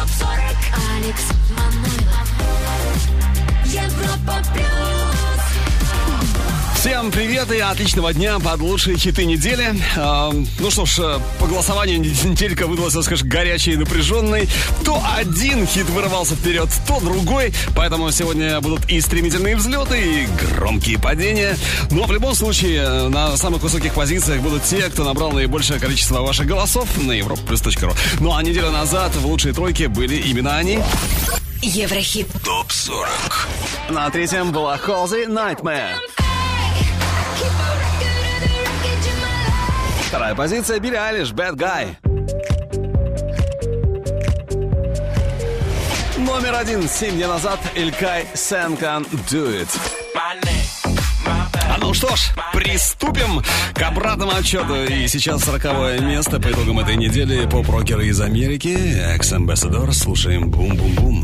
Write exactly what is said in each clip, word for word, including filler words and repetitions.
топ сорок. Алекс Манойлов. Европа плюс. Всем привет и отличного дня под лучшие хиты недели. Э, ну что ж, по голосованию неделька выдалась, скажем, горячей и напряженной. То один хит вырывался вперед, то другой. Поэтому сегодня будут и стремительные взлеты, и громкие падения. Но в любом случае на самых высоких позициях будут те, кто набрал наибольшее количество ваших голосов на европа плюс точка ру. Ну а неделю назад в лучшей тройке были именно они. Еврохит топ сорок. На третьем была Halsey Nightmare. Вторая позиция Билли Айлиш, Bad Guy. Номер один, семь дней назад, Илкай, Sen Can Do It. А ну что ж, приступим к обратному отчету. И сейчас сороковое место по итогам этой недели. Поп-рокеры из Америки, Ex-Ambassador. Слушаем бум-бум-бум.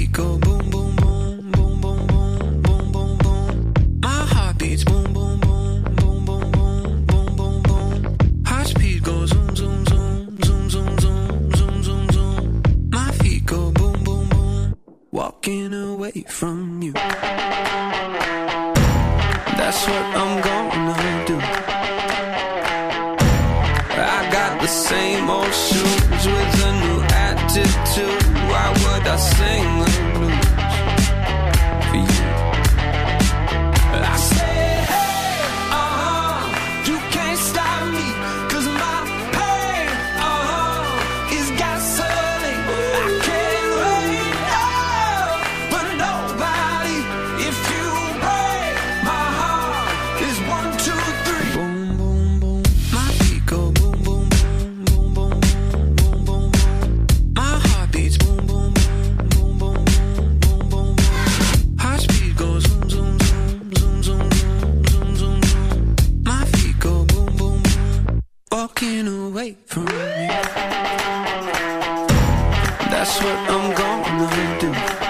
Walking away from you. That's what I'm gonna do. I got the same old shoes with a new attitude. Why would I sing the blues for you? I say, hey, uh-huh, you can't stop me, 'cause my pain, uh-huh, is gasoline. I can't wait, oh, but nobody, if you break my heart, is one, two, three. Boom, boom, boom. My feet go boom, boom, boom, boom, boom, boom, boom, boom. My heart beats boom, boom, boom, boom, boom, boom, boom, boom. Heart speed goes zoom, zoom, zoom, zoom, zoom, zoom, zoom, zoom. My feet go boom, boom, boom. Walking away from you. That's what I'm gonna do.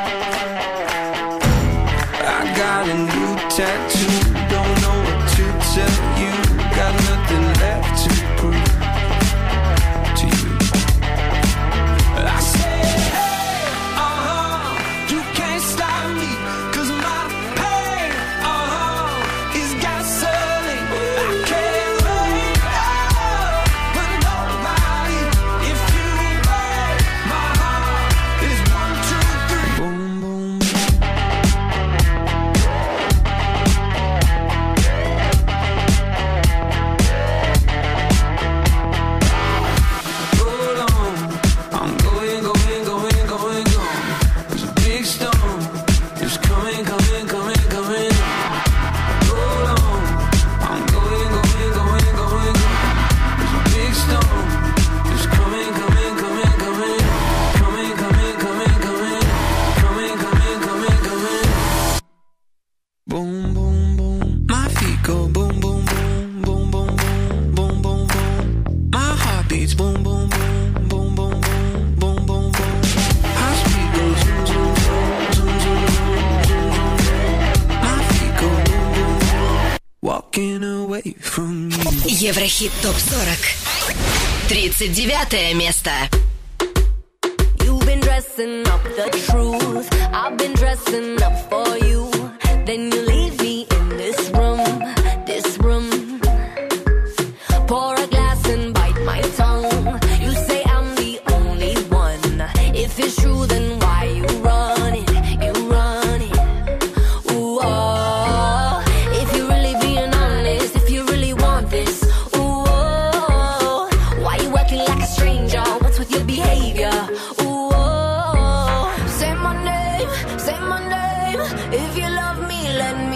I got a new tattoo. Don't know what to tell you. Got nothing left to prove to you. I say, hey, uh-huh, you can't stop me, 'cause my pain, uh-huh, is gasoline. I can't wait, oh, but nobody, if you break my heart, is one, two, three. Boom, boom. Hold on, I'm going, going, going, going, going. There's a big storm, it's coming, coming, coming, coming. Hold on, I'm going, going, going, going, going. There's a big storm, it's coming, coming, coming, coming. Coming, coming, coming, coming. Coming, coming, coming, coming. Boom, boom, boom. My feet go boom, boom, boom, boom, boom, boom, boom, boom, boom. My heart beats boom, boom, boom, boom, boom, boom, boom, boom, boom. Heart speed goes zoom, zoom, zoom, zoom, zoom, zoom, zoom, zoom. My feet go boom, boom, boom. Walking away from you. Еврохит топ сорок. тридцать девятое место. You've been dressing up the truth. I've been dressing up for you. Then you leave me in this room, this room. Pour a glass and bite my tongue. You say I'm the only one. If it's true, then why you run it? You run it. Ooh, oh. If you're really being honest, if you really want this, ooh, oh. Why you acting like a stranger? What's with your behavior? Ooh, oh. Say my name, say my name. If you love me, let me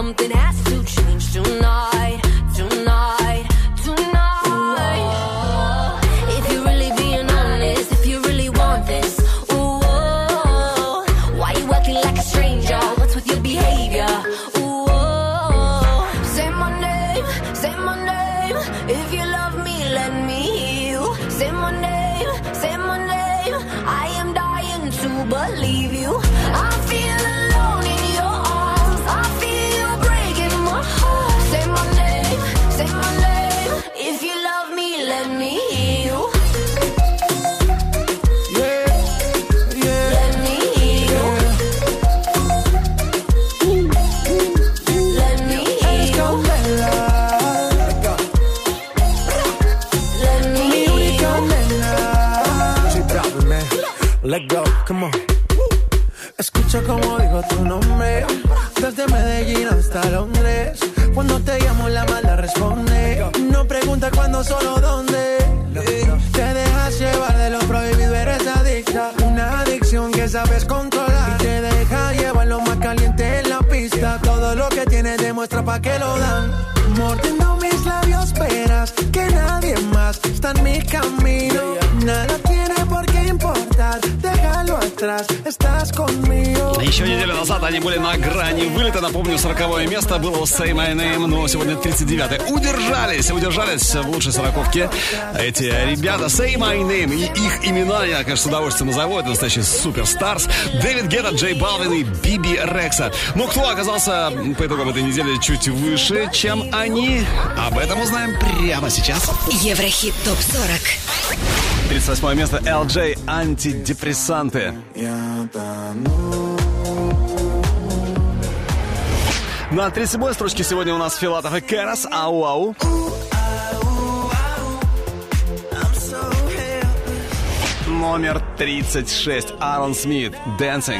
something has to change tonight, tonight, tonight. Ooh, if you're really being honest, if you really want this, ooh, why you acting like a stranger? What's with your behavior? Ooh, say my name, say my name. If you love me, let me hear you. Say my name, say my name. I am dying to believe you. I feel alone in your arms. I feel you breaking my heart. Say my name, say my name. If you love me, let me hear you. Yeah, yeah. Let me hear you. Let me hear you. Let me hear you. Let go, come on. Escucha como digo tu nombre, desde Medellín hasta Londres. Cuando te llamo la mala responde. No pregunta cuándo, solo dónde. Te dejas llevar de lo prohibido, eres adicta. Una adicción que sabes controlar. Y te deja llevar lo más caliente en la pista. Todo lo que tienes demuestra pa' que lo dan. Mordiendo mis labios verás que nadie más está en mi camino. Nada tiene por qué importar, déjalo atrás, estás conmigo. Еще неделю назад они были на грани вылета. Напомню, сороковое место было у Say My Name, но сегодня тридцать девятое. Удержались, удержались в лучшей сороковке эти ребята. Say My Name. И их имена я, конечно, с удовольствием назову. Это настоящий суперстарс. Дэвид Гетта, Джей Балвин и Биби Рекса. Но кто оказался по итогам этой недели чуть выше, чем они? Об этом узнаем прямо сейчас. Еврохит топ сорок. тридцать восьмое место. эл джей «Антидепрессанты». На тридцать седьмой строчке сегодня у нас Филатов и Кэрос. Ау-ау. Номер тридцать шесть. Аарон Смит. «Dancing».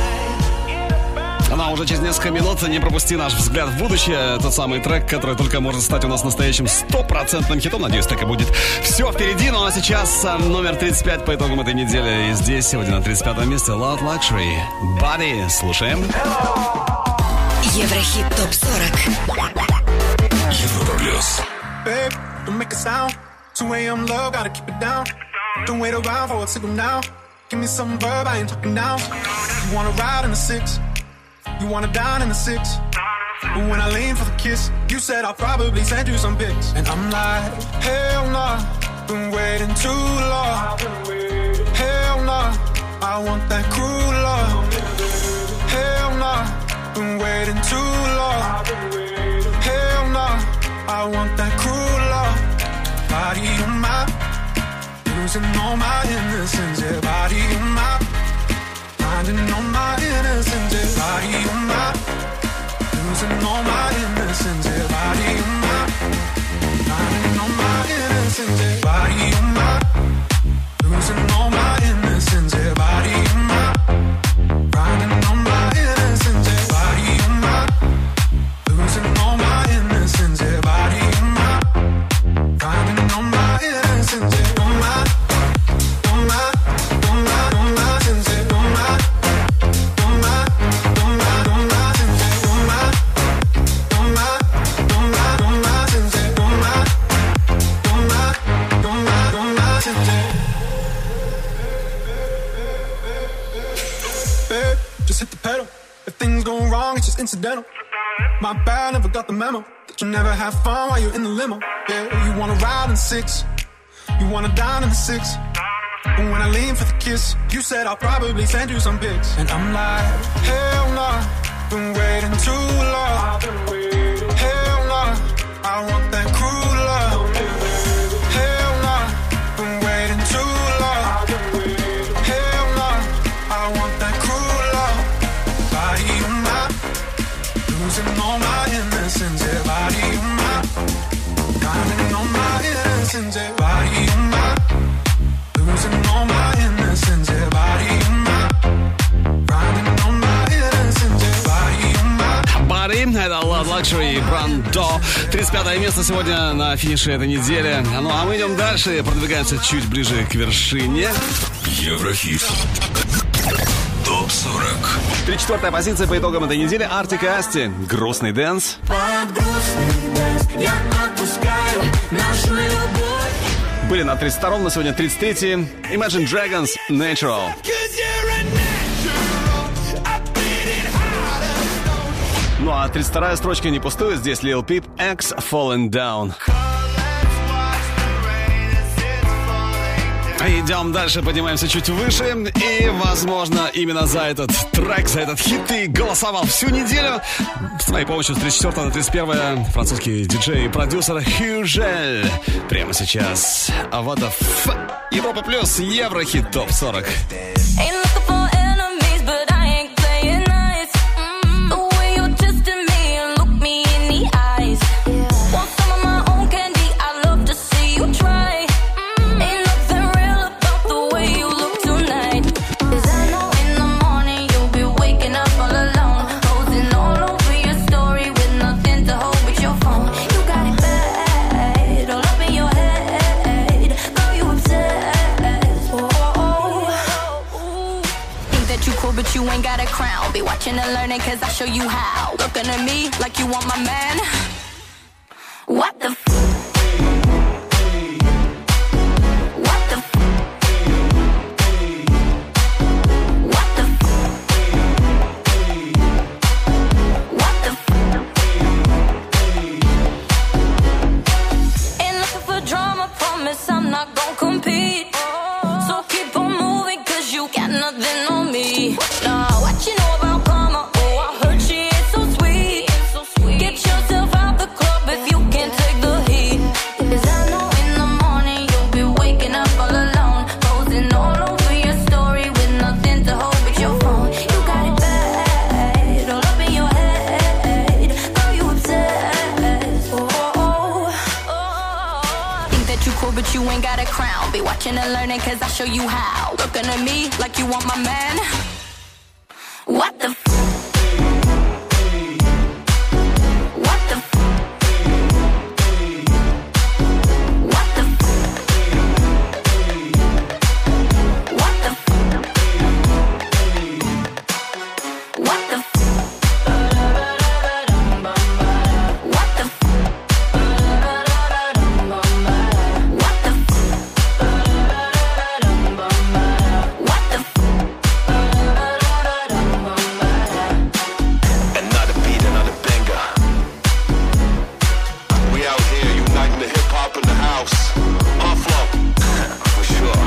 Ну, уже через несколько минут не пропусти наш взгляд в будущее. Тот самый трек, который только может стать у нас настоящим стопроцентным хитом. Надеюсь, так и будет. Все впереди, ну а сейчас номер тридцать пять по итогам этой недели. И здесь сегодня на тридцать пятом месте Loud Luxury. Body. Слушаем. Еврохит топ сорок. Европа плюс. Babe, don't make a sound. two a.m. love, gotta keep it down. Don't wait around for a signal now. Give me some verb, I ain't talking now. You wanna ride in the six? You wanna dine in the six? But when I lean for the kiss, you said I'll probably send you some pics. And I'm like, hell nah, been waiting too long. Hell nah, I want that cruel love. Hell nah, been waiting too long. Hell nah, I want that cruel love. Body on my, losing all my innocence. Yeah, body on my, finding all my innocence. Yeah, body on my, losing all my innocence. Yeah, body on my, finding all my innocence. Yeah, body on my, losing all my innocence. Yeah, body on my, finding all my innocence. Yeah, body on my, losing all my innocence. Yeah, body on my, finding all my innocence. Yeah, on my, on my, on my, on my innocence. Yeah, on my, on my, on my, on my innocence. Yeah, on my, on my, on my, on my innocence. Yeah, on my, on my, on my, on my innocence. Babe, just hit the pedal. If things go wrong, it's just incidental. My bad, never got the memo that you never have fun while you're in the limo. Yeah, you wanna ride in six, you wanna dine in the six. But when I lean for the kiss, you said I'll probably send you some pics. And I'm like, hell nah, been waiting too long. Hell nah, I want that cruel love. Hell nah, been waiting too long. Hell nah, I want that cruel love. Body on my, losing all my innocence. Yeah, body on my, finding all my innocence. Yeah, body on my, losing all my innocence. Yeah, body on my, finding all my innocence. Yeah, body on my. Body, это Loud Luxury, Brando. тридцать пятое место сегодня на финише этой недели. Ну а мы идем дальше, продвигаемся чуть ближе к вершине. Еврохит топ сорок. Три-четвертая позиция по итогам этой недели. Артик и Асти. Грустный дэнс. Я отпускаю нашу любовь. Были на тридцать втором, на сегодня тридцать третьем. Imagine Dragons, Natural. Ну а тридцать вторая строчка не пустует. Здесь Lil Peep, X, Falling Down. Идем дальше, поднимаемся чуть выше. И, возможно, именно за этот трек, за этот хит ты голосовал всю неделю. С моей помощью с тридцать четвёртого на тридцать первое французский диджей и продюсер Хюжель. Прямо сейчас. А вот F. Европа плюс, Еврохит топ сорок. But you ain't got a crown. Be watching and learning, cause I show you how. Looking at me like you want my man. What the f? What the f? What the f? What the f? Ain't looking for drama, promise I'm not gon' compete. So keep on moving, cause you got nothing on me. Nah, what you know about karma? Oh, I heard she ain't so sweet. Get yourself out the club if you can't take the heat. Cause I know in the morning you'll be waking up all alone, posing all over your story with nothing to hold but your phone. You got it bad, all up in your head. Are you obsessed? Oh, oh, oh. Think that you cool but you ain't got a crown. Be watching and learning, cause I show you how. Looking at me like you want my man. What the f? What the f? What the f? What the f? What the f? What the f? What the f? What the f? Another beat, another banger. We out here uniting the hip hop in the house. On flow, for sure.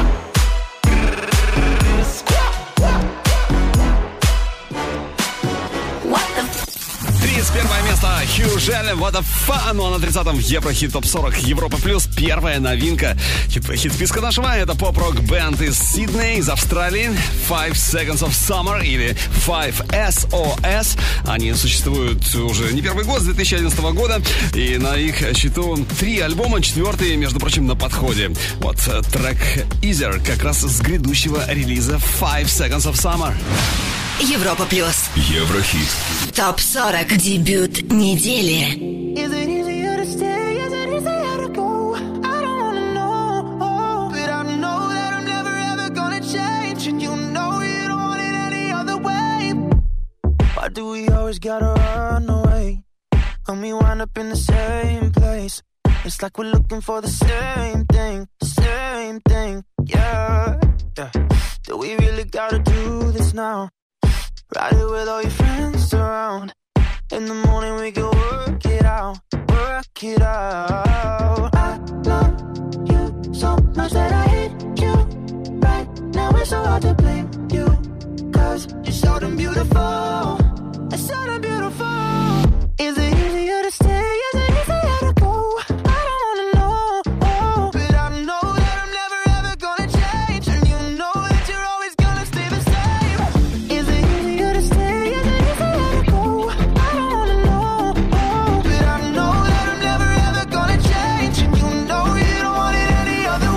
What the f? тридцать первое место. Хюжель, What the Fun. Ну а на тридцатом Еврохит топ сорок. Европа плюс. Первая новинка. Хит, хит списка нашего. Это поп-рок бенд из Сиднея, из Австралии. Five Seconds of Summer или Five эс о эс. Они существуют уже не первый год, с две тысячи одиннадцатого года. И на их счету три альбома, четвертый, между прочим, на подходе. Вот трек Easier как раз с грядущего релиза Five Seconds of Summer. Европа плюс. Еврохит. топ сорок. Дебют недели. Is it easier to stay? Is it easier to go? I don't wanna know, but I know that I'm never ever gonna change, and you know you don't want it any other way. Why do we always gotta run away when we wind up in the same place? It's like we're looking for the same thing, same thing, yeah, yeah. Do we really gotta do this now? Ride it with all your friends around. In the morning we can work it out, work it out. I love you so much that I hate you. Right now it's so hard to blame you, cause you're so damn beautiful, so damn beautiful. Is it easier to stay? Is it easier to go? I don't wanna know, oh, but I know that I'm never ever gonna change, and you know that you're always gonna stay the same. Is it easier to stay? Is it easier to go? I don't wanna know, oh, but I know that I'm never ever gonna change, and you know you don't want it any other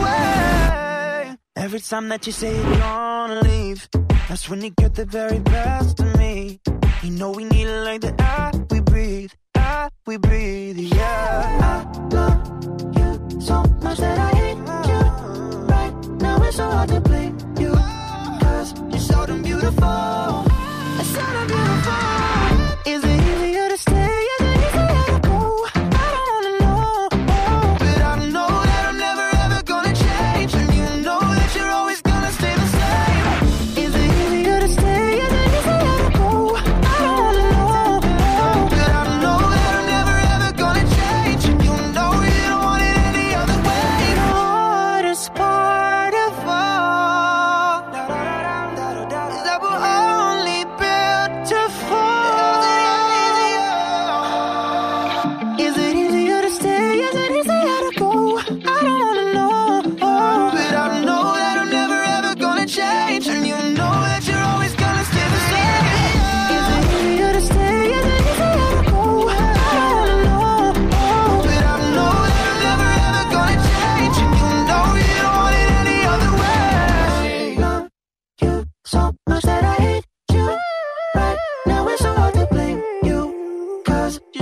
way. Every time that you say you're gonna leave, that's when you get the very best of me. You know we need it like the air we breathe, air we breathe, yeah. I love you so much that I hate you. Right now it's so hard to blame you, cause you're so damn beautiful, so damn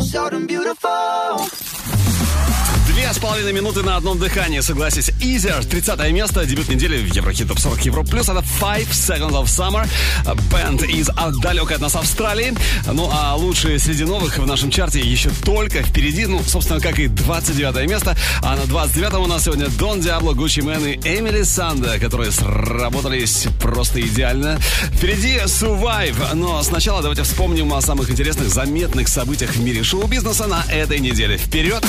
so damn beautiful. Две с половиной минуты на одном дыхании, согласись. Easier, тридцатое место, дебют недели в Еврохит Топ сорок Европа Плюс. Это Five Seconds of Summer. Бэнд из далекой от нас Австралии. Ну а лучшие среди новых в нашем чарте еще только впереди. Ну, собственно, как и двадцать девятое место. А на двадцать девятом у нас сегодня Дон Диабло, Гуччи Мэн и Эмили Санда, которые сработались просто идеально. Впереди Survive. Но сначала давайте вспомним о самых интересных, заметных событиях в мире шоу-бизнеса на этой неделе. Вперед!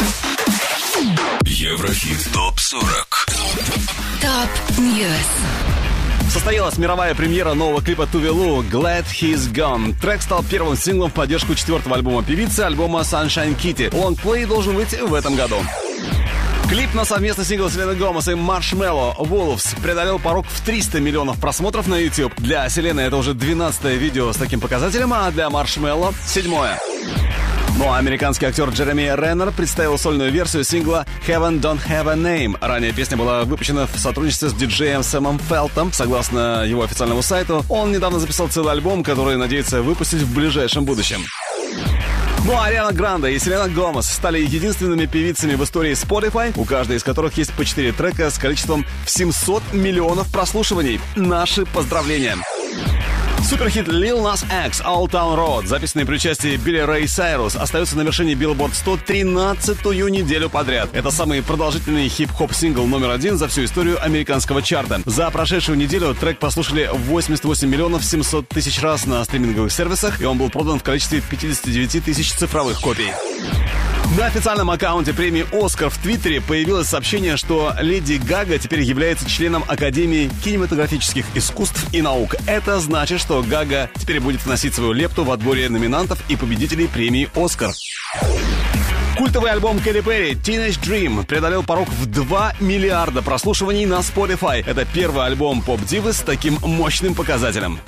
Еврохит Топ сорок. Топ Ньюс. Состоялась мировая премьера нового клипа Tove Lo «Glad He's Gone». Трек стал первым синглом в поддержку четвертого альбома певицы, альбома Sunshine Kitty. Лонгплей должен выйти в этом году. Клип на совместный сингл Селены Гомес и Маршмелло «Wolves» преодолел порог в триста миллионов просмотров на YouTube. Для Селены это уже двенадцатое видео с таким показателем, а для Маршмелло — седьмое. Ну а американский актер Джереми Реннер представил сольную версию сингла «Heaven Don't Have a Name». Ранее песня была выпущена в сотрудничестве с диджеем Сэмом Фелтом. Согласно его официальному сайту, он недавно записал целый альбом, который надеется выпустить в ближайшем будущем. Ну а Ариана Гранде и Селена Гомес стали единственными певицами в истории Spotify, у каждой из которых есть по четыре трека с количеством в семьсот миллионов прослушиваний. Наши поздравления! Суперхит Lil Nas X «Old Town Road», записанный при участии Билли Рэй Сайрус, остается на вершине Billboard сто тринадцатую неделю подряд. Это самый продолжительный хип-хоп сингл номер один за всю историю американского чарта. За прошедшую неделю трек послушали восемьдесят восемь миллионов семьсот тысяч раз на стриминговых сервисах, и он был продан в количестве пятьдесят девять тысяч цифровых копий. На официальном аккаунте премии «Оскар» в Твиттере появилось сообщение, что Леди Гага теперь является членом Академии кинематографических искусств и наук. Это значит, что Гага теперь будет вносить свою лепту в отборе номинантов и победителей премии «Оскар». Культовый альбом Кэти Перри «Teenage Dream» преодолел порог в два миллиарда прослушиваний на Spotify. Это первый альбом поп-дивы с таким мощным показателем.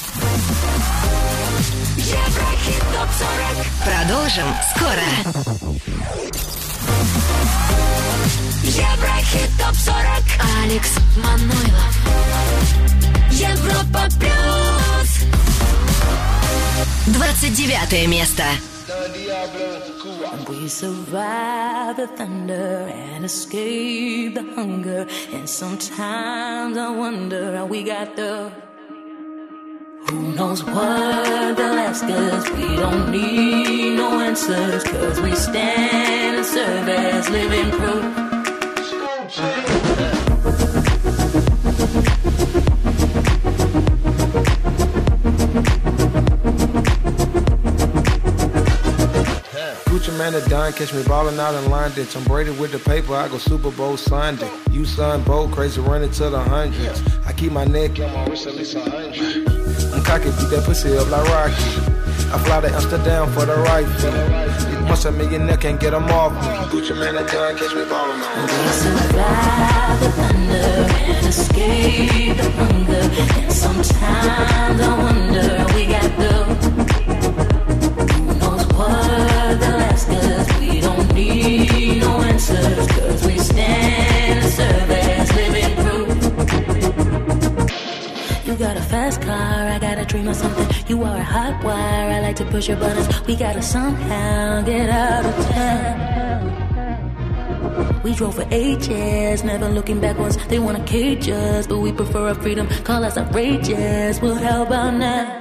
Продолжим скоро. Еврохит топ сорок. Алекс Манойлов. Европа плюс. двадцать девятое место. We survive the thunder and escape the hunger. And sometimes I wonder how we got there. Who knows what they'll ask us? We don't need no answers, cause we stand and serve as living proof. Gucci man are done, catch me ballin' out in London. Tom Brady with the paper, I go Super Bowl Sunday. You son, bold, crazy, running to the hundreds. I keep my neck on my wrist at least a hundred. I'm cocky, beat that pussy up like Rocky. I fly to Amsterdam for the right fee. Once a millionaire can't get them off me. Gucci man are done, catch me ballin' out. We survive the thunder and escape the hunger. And sometimes I wonder how we got there. Who knows what they'll ask us? We don't need no answers, cause we stand and serve as living proof. You got a fast car, I got a dream of something. You are a hot wire, I like to push your buttons. We gotta somehow get out of town. We drove for ages, never looking backwards. They wanna cage us, but we prefer our freedom. Call us outrageous, well how about now?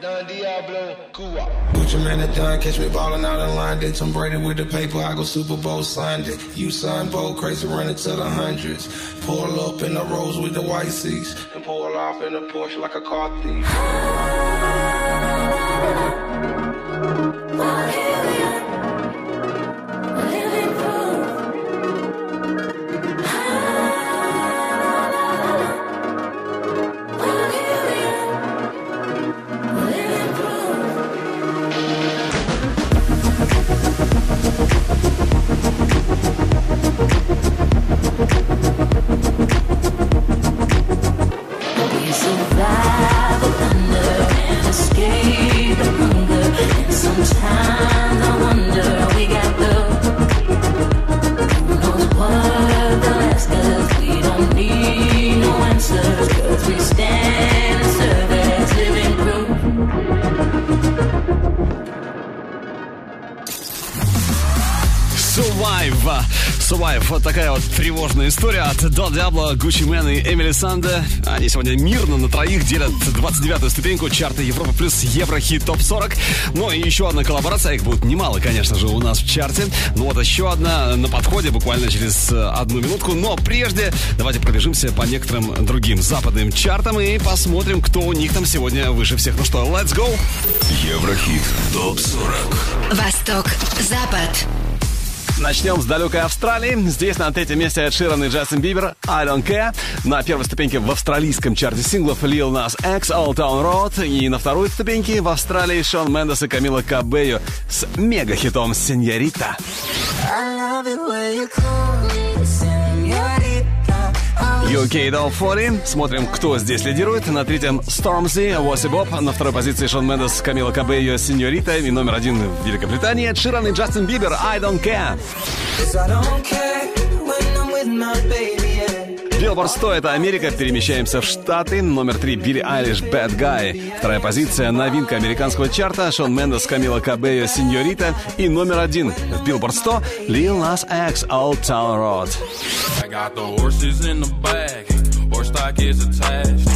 Gucci man are done, catch me ballin' out in London. Tom Brady with the paper, I go Super Bowl Sunday. You son, bold, crazy, running to the hundreds. Pull up in the Rolls with the white seats, and pull off in a Porsche like a car thief. We survive the thunder and Survive. Survive. Вот такая вот тревожная история от Дон Диабло, Гуччи Мэн и Эмили Санде. Они сегодня мирно на троих делят двадцать девятую ступеньку чарта Европа плюс Еврохит топ сорок. Ну и еще одна коллаборация, их будет немало, конечно же, у нас в чарте. Ну вот еще одна на подходе буквально через одну минутку. Но прежде давайте пробежимся по некоторым другим западным чартам и посмотрим, кто у них там сегодня выше всех. Ну что, let's go! Еврохит топ сорок. Восток, Запад. Начнем с далекой Австралии. Здесь на третьем месте Эд Ширан и Джастин Бибер I Don't Care. На первой ступеньке в австралийском чарте синглов Lil Nas X Old Town Road. И на второй ступеньке в Австралии Шон Мендес и Камила Кабео с мега-хитом «Сеньорита». ю кей Top сорок. Смотрим, кто здесь лидирует. На третьем Stormzy, Wossi Bop. На второй позиции Шон Мендес, Камила Кабео, «Сеньорита». И номер один в Великобритании Эд Ширан и Джастин Бибер I Don't Care. Billboard сто — это Америка. Перемещаемся в Штаты. Номер три Билли Айлиш Bad Guy. Вторая позиция новинка американского чарта Шон Мендес, Камила Кабео, «Сеньорита». И номер один в Billboard сто Lil Nas X Old Town Road. I got the horses in the bag, horse stock is attached.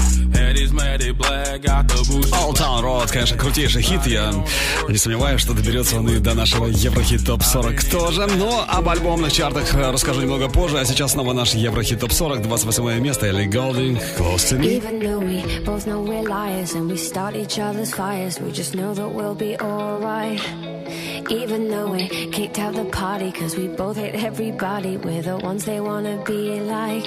Old Town Road, конечно, крутейший хит. Я не сомневаюсь, что доберется он и до нашего Еврохит топ сорок тоже. Но об альбомных чартах расскажу немного позже. А сейчас снова наш Еврохит топ сорок, двадцать восьмое место. Элли Голдинг, Close to Me. Even though we both know we're liars and we start each other's fires, we just know that we'll be alright. Even though we kicked out the party cause we both hate everybody, we're the ones they wanna be like.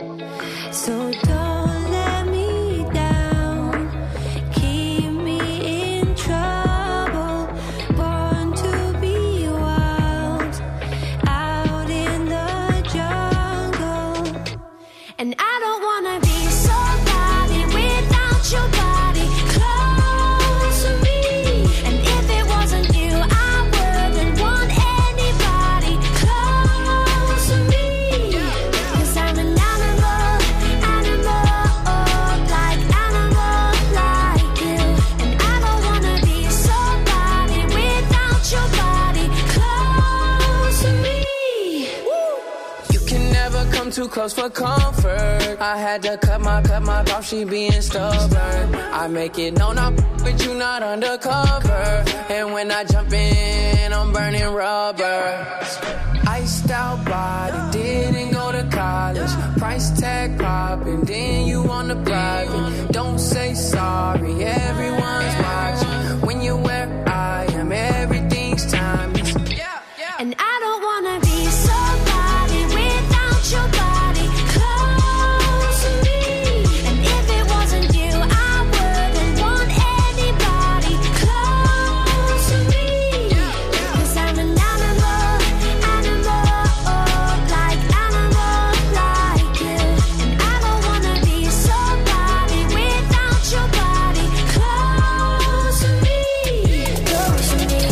So don't let me down, keep me in trouble, born to be wild, out in the jungle. And I don't wanna be somebody without your body close to me. And if it wasn't you, I wouldn't want anybody close to me. Cause I'm an animal, animal, like animal like you. And I don't wanna be somebody without your body close to me. You can never come too close for comfort. I had to cut my, cut my off, she being stubborn. I make it known I'm but you not undercover. And when I jump in, I'm burning rubber. Iced out body, didn't go to college. Price tag popping, then you on the private. Don't say sorry, everyone's watching. When you're where I am, everything's timeless. And I don't wanna be somebody without your body close to me. And if it wasn't you, I wouldn't want anybody close to me. Cause I'm an animal, animal, like animal like you. And I don't wanna be somebody without your body close to me. Close to me.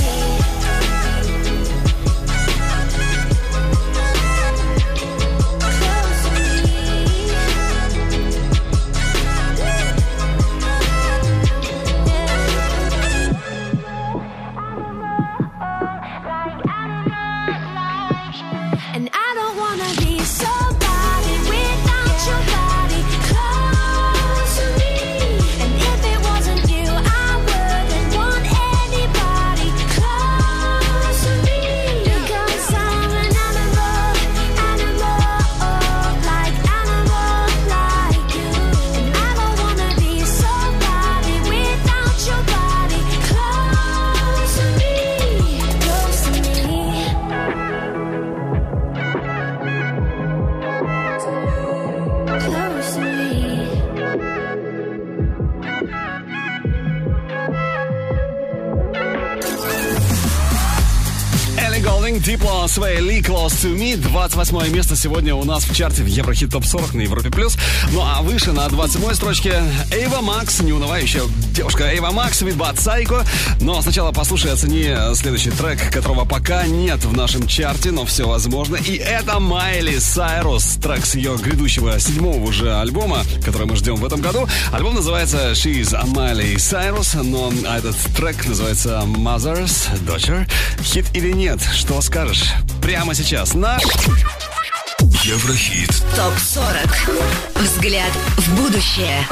And I don't wanna be somebody without your body close to me. And if it wasn't you, I wouldn't want anybody close to me. Because I'm an animal, animal, like animal like you. And I don't wanna be somebody without your body close to me. Close to me. Close to me. Элли Голдинг, Дипло, Свей Ли, Close to Me. двадцать восьмое место сегодня у нас в чарте в Еврохит топ сорок на Европе плюс. Ну а выше на двадцать седьмой строчке Эйва Макс, неунывающая девушка Эйва Макс, With Bad Psycho. Но сначала послушай и оцени следующий трек, которого пока нет в нашем чарте, но все возможно. И это Майли Сайрус, трек с ее грядущего седьмого уже альбома, который мы ждем в этом году. Альбом называется She's Miley Cyrus, но этот трек называется Mother's Daughter. Хит или нет? Что кого скажешь прямо сейчас на Еврохит топ сорок. Взгляд в будущее.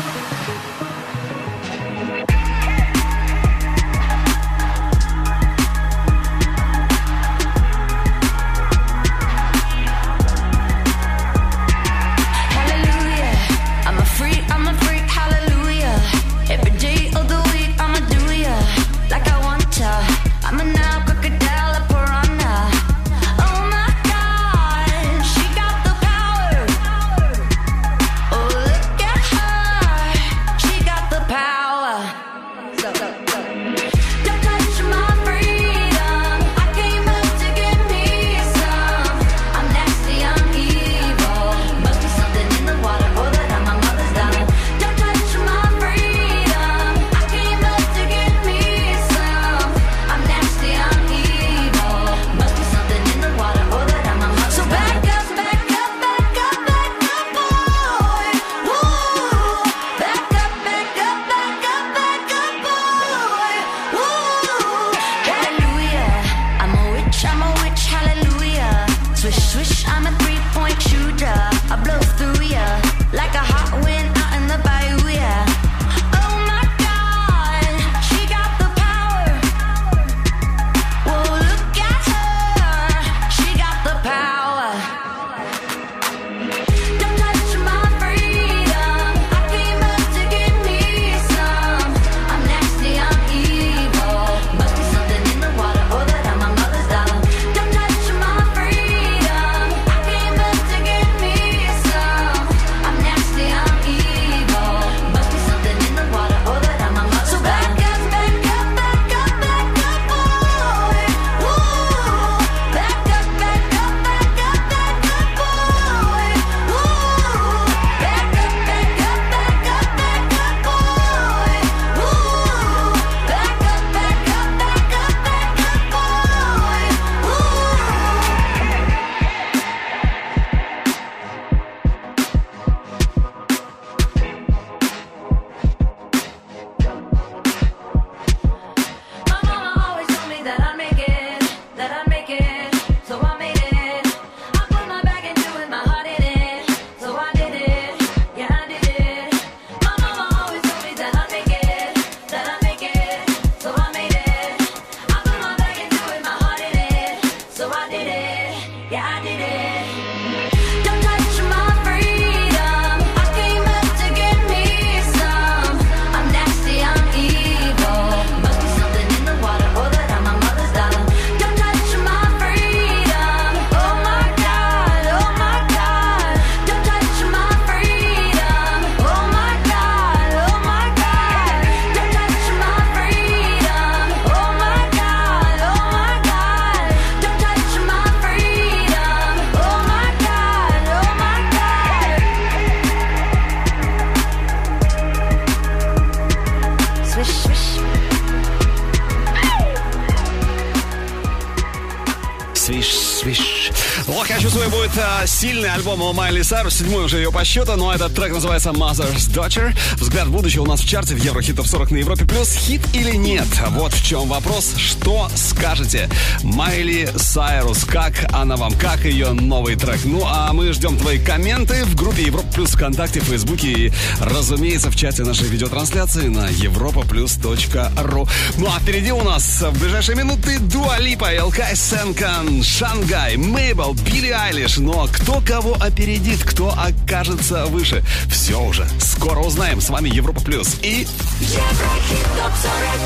Сильный альбом у Майли Сайрус, седьмой уже ее по счету, но этот трек называется Mother's Daughter. Взгляд в будущее у нас в чарте в Еврохит топ сорок на Европе плюс. Хит или нет? Вот в чем вопрос. Что скажете? Майли Сайрус, как она вам? Как ее новый трек? Ну, а мы ждем твои комменты в группе Европа плюс ВКонтакте, в Фейсбуке и, разумеется, в чате нашей видеотрансляции на европа плюс точка ру. Ну, а впереди у нас в ближайшие минуты Дуа Липа, Элкай Сенкан, Шангай, Мейбл, Билли Айлиш. Но кто кого опередит, кто окажется выше, все уже скоро узнаем. С вами Европа Плюс и Еврохит топ сорок.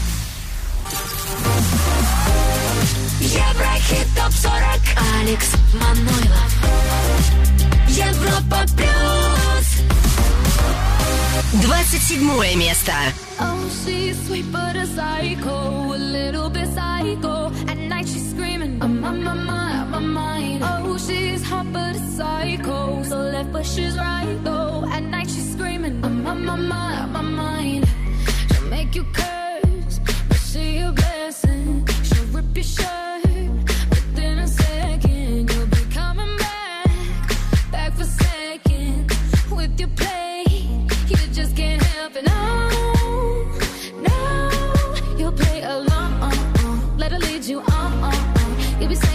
Еврохит топ сорок. Алекс Манойлов. Европа Плюс. Двадцать седьмое место. Oh, she's sweet but a psycho, a little bit psycho. At night she's screaming, I'm on my mind, my mind. Oh, she's hot but a psycho, so left but she's right though. At night she's screaming, I'm on my mind, my mind. She'll make you curse, but she a blessing. She'll rip your shirt, within a second you'll be coming back, back for second with your play. You just can't help it, no. Let her lead you on, on, on. You'll be saying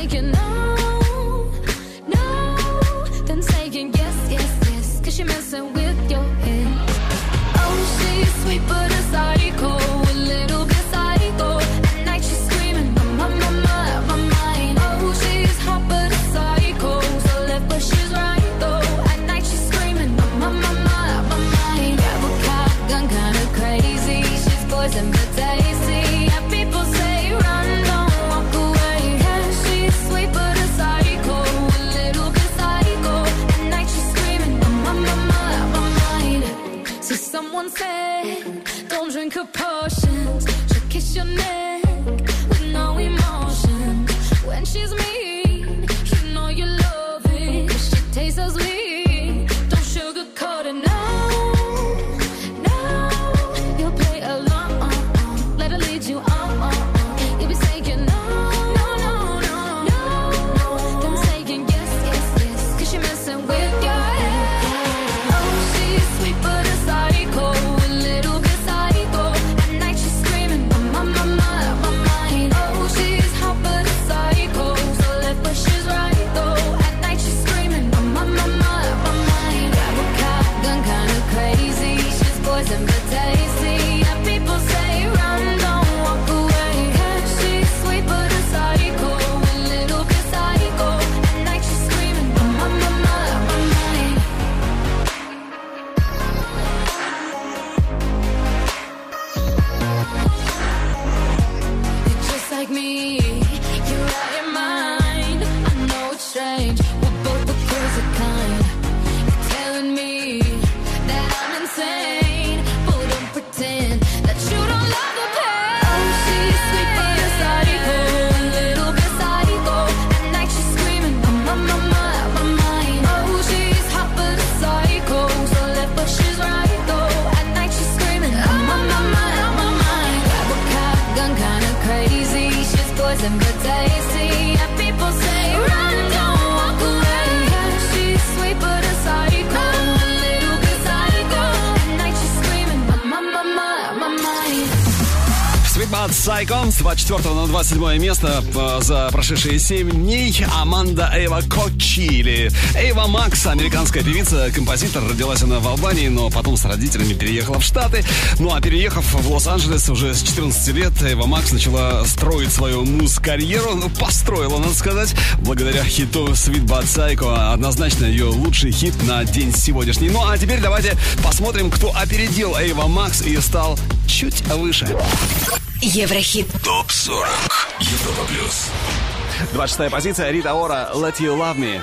isn't but tasty. Yeah, people say run, don't walk away. Yeah, she's sweet but a psycho, a little bit psycho. At night she's screaming, my, my, my, my, my mind. Sweet But Psycho с двадцать четвёртого на двадцать седьмое место за прошедшие семь дней. Аманда Эйва Коччи, или Эйва Макс, американская певица, композитор. Родилась она в Албании, но потом с родителями переехала в Штаты. Ну а переехав в Лос-Анджелес уже с четырнадцати лет, Эйва Макс начала строить свою муз-карьеру. Ну, построила, надо сказать, благодаря хиту Sweet But Psycho. Однозначно ее лучший хит на день сегодняшний. Ну а теперь давайте посмотрим, кто опередил Эйва Макс и стал чуть выше. Еврохит. Топ сорок. Европа плюс. двадцать шестая позиция. Рита Ора, Let You Love Me.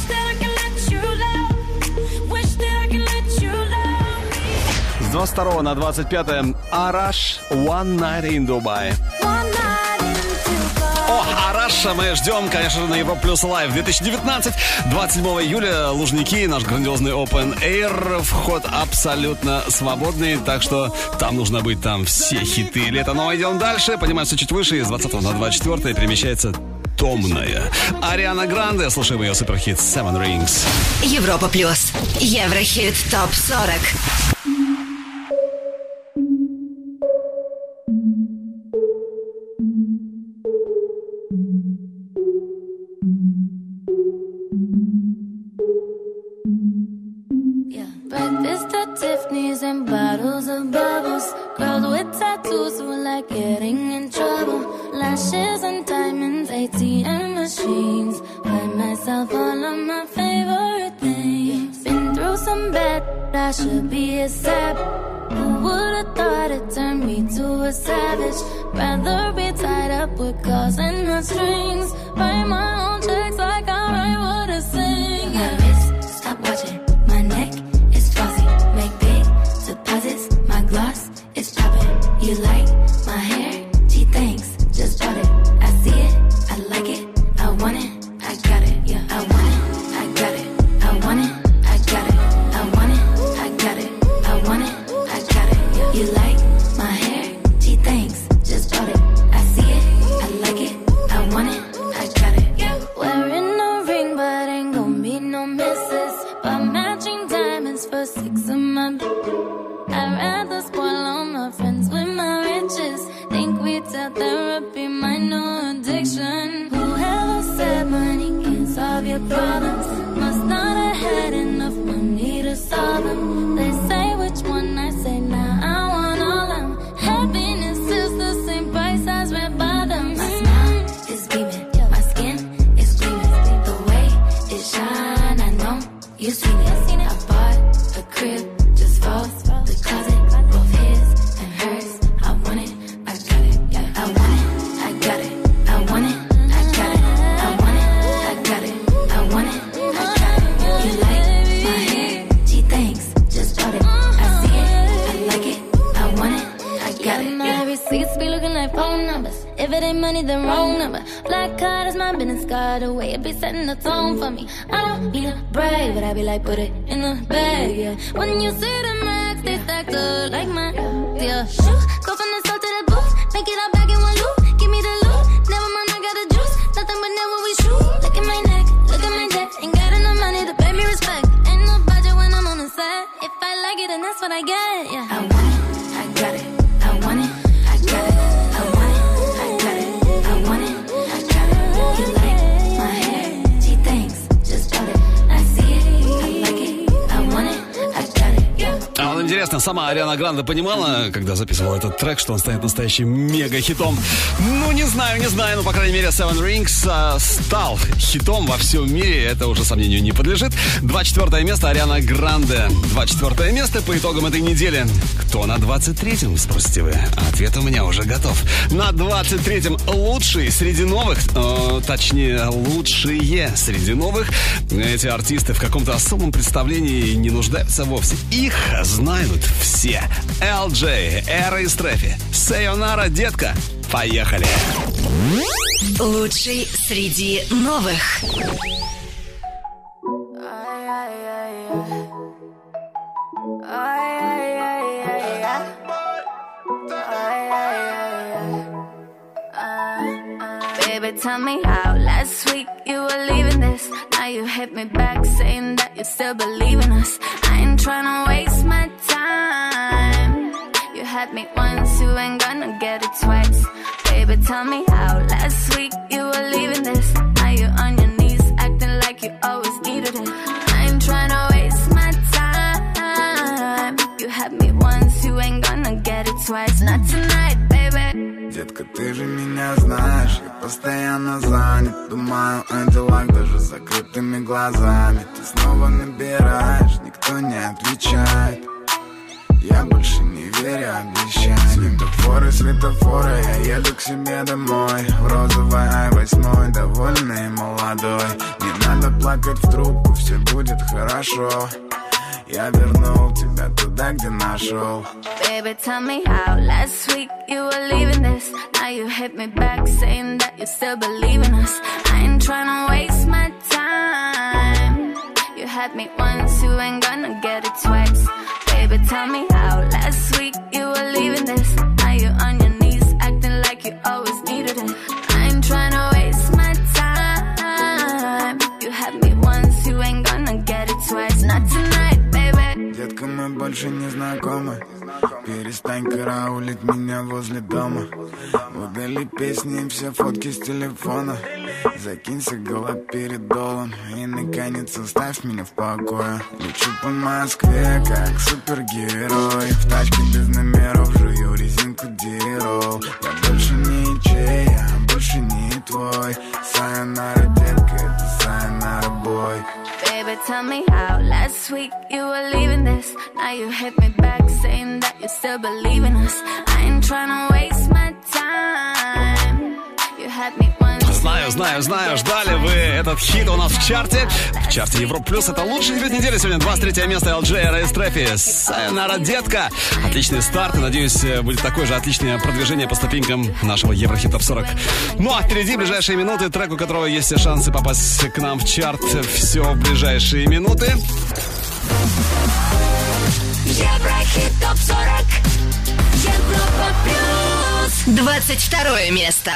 С двадцать второго на двадцать пятое Араш, One Night in Dubai. О, Араша мы ждем, конечно же, на Европа Плюс Лайв две тысячи девятнадцать. двадцать седьмого июля Лужники, наш грандиозный Open Air. Вход абсолютно свободный, так что там нужно быть, там все хиты лета. Но идем дальше, поднимаемся чуть выше. Из двадцатого на двадцать четвёртое перемещается Томная Ариана Гранде. Слушаем ее суперхит Seven Rings. Европа Плюс. Еврохит топ сорок. Breakfast at Tiffany's and bottles of bubbles. Girls with tattoos who like getting in trouble. Lashes and diamonds, A T M machines. Buy myself all of my favorite things. Been through some bad, I should be a sap. Who would've thought it turned me to a savage? Rather be tied up with calls and not strings. Write my own checks like I write what I sing. My wrist, stop watching. My neck is flossy. Make big deposits. My gloss is chopping. You like my hair? Gee, thanks. Just bought it. I see it. I like it. I want it. I got it. Yeah, I want it. I got it. I want it. I got it. I want it. I got it. I want it. I got it. Yeah. You like my hair? Gee, thanks. Just bought it. I see it. I like it. I want it. I got it. Yeah. Wearing a ring, but ain't gon' be no misses. But matching diamonds for six of my. I'd rather spoil all my friends with my riches. Think we tell therapy my new addiction. Whoever said money can't solve your problems must not have had enough money to solve them. They say which one I say now. I want all them. Happiness is the same price as red bottoms. My smile is beaming, my skin is gleaming. The way it shine, I know you seen it. I bought a crib just for the closet, both his and hers. I want it, I got it. Yeah, I want it, I got it. I want it, I got it. I want it, I got it. I want it, I got it. You like my hair? Gee, thanks. Just bought it. I see it, I like it. I want it, I got it. My receipts be looking like phone numbers. If it ain't money, then wrong number. Black card is my business card. The way it be setting the tone for me. I don't need a brag, but I be like, put it in the bag, yeah. When you see the max, they stacked up like my yeah. Shoes go from the south to the booth, make it all back in one loop. Give me the loot, never mind, I got the juice. Nothing but never we shoot. Look at my neck, look at my neck. Ain't got enough money to pay me respect. Ain't no budget when I'm on the set. If I like it, then that's what I get, yeah. I want it, I got it. I want it, I got it. I want it, I got it. I want it, I got it. You like my hair? Gee, thanks. Just bought it. I see it, I like it. I want it, I got it. Yeah. А вот интересно, сама Ариана Гранде понимала, когда записывала этот трек, что он станет настоящим мега-хитом? Ну, не знаю, не знаю, но, по крайней мере, Seven Rings а, стал хитом во всем мире, это уже сомнению не подлежит. двадцать четвёртое место Ариана Гранде. двадцать четвёртое место по итогам этой недели. Кто на двадцать третьем, спросите вы? Ответ у меня уже готов. На двадцать третьем лучший среди новых, э, точнее, лучшие среди новых. Эти артисты в каком-то особом представлении не нуждаются вовсе. Их знают все. эл джей, Эра и Стрефи. Сайонара, детка. Поехали. Лучший среди новых. Baby, tell me how. Last week you were leaving this. Now you hit me back saying that you still believe in us. I ain't tryna waste my time. You had me once, you ain't gonna get it twice. Baby, tell me how. Last week you were leaving this. Now you're on your knees acting like you always needed it. I ain't tryna waste my time. You had me once, you ain't gonna get it twice. Not tonight, baby. Детка, ты же меня знаешь, я постоянно занят. Думаю о делах даже с закрытыми глазами. Ты снова набираешь, никто не отвечает. Я больше не верю обещаниям. Светофоры, светофоры, я еду к себе домой. В розовой ай восемь, довольный и молодой. Не надо плакать в трубку, все будет хорошо. Я вернул тебя туда, где нашел. Baby, tell me how. Last week you were leaving this. Now you hit me back saying that you still believe in us. I ain't tryna waste my time. You had me once, you ain't gonna get it twice. Baby, tell me how. Last week you were leaving this. Now you're on your knees acting like you always needed it. I ain't tryna waste my time. You had me once, you ain't gonna get it twice. Not tonight. Детка, мы больше не знакомы. Перестань караулить меня возле дома. Удали песни и все фотки с телефона. Закинься галоперидолом и наконец оставь меня в покое. Лечу по Москве, как супергерой. В тачке без номеров жую резинку дирол. Я больше не чей, я больше не твой. Сайонара, детка, это сайонара, бой. Baby, tell me how. Last week you were leaving this. Now you hit me back saying that you still believe in us. I ain't tryna waste my time. You had me once. Знаю, знаю, знаю, ждали вы этот хит у нас в чарте. В чарте Европа Плюс. Это лучший хит недели сегодня. двадцать третье место эл джей Рейс Трефи. Сайонара, детка. Отличный старт. И, надеюсь, будет такое же отличное продвижение по ступенькам нашего Еврохит Топ сорок. Ну а впереди ближайшие минуты. Трек, у которого есть все шансы попасть к нам в чарт. Все в ближайшие минуты. Еврохит Топ сорок. Европа Плюс. двадцать второе место.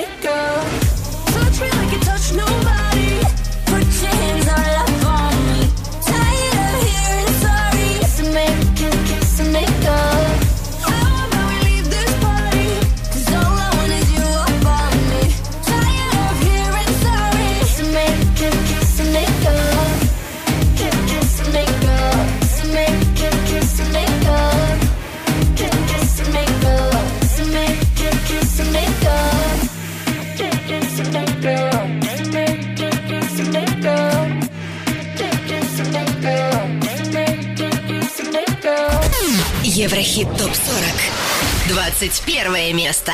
Touch me like you touch nobody. Put your hands all up on me. Еврохит топ сорок. двадцать первое место.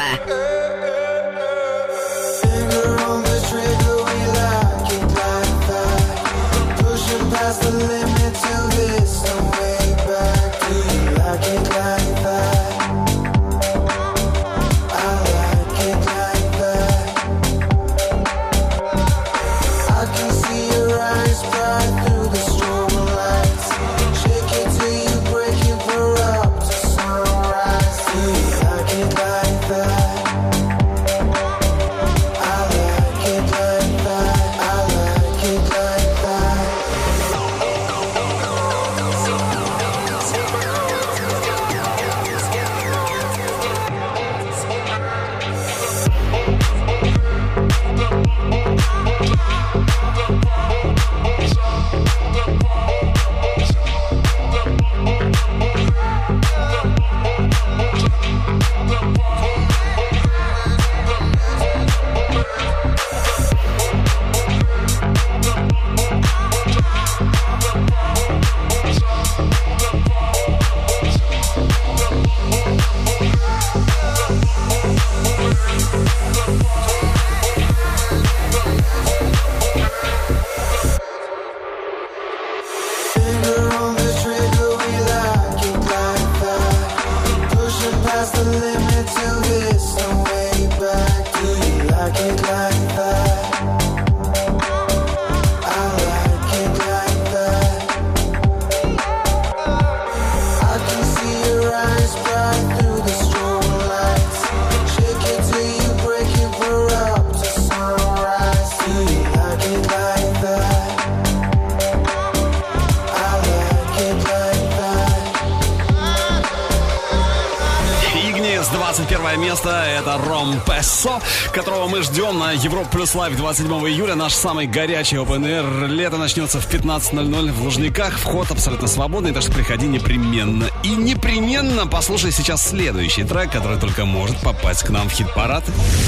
Это Ром Пессо, которого мы ждем на Европа Плюс Лайв двадцать седьмого июля. Наш самый горячий Open Air. Лето начнется в пятнадцать ноль ноль в Лужниках. Вход абсолютно свободный, так что приходи непременно. И непременно послушай сейчас следующий трек, который только может попасть к нам в хит-парад.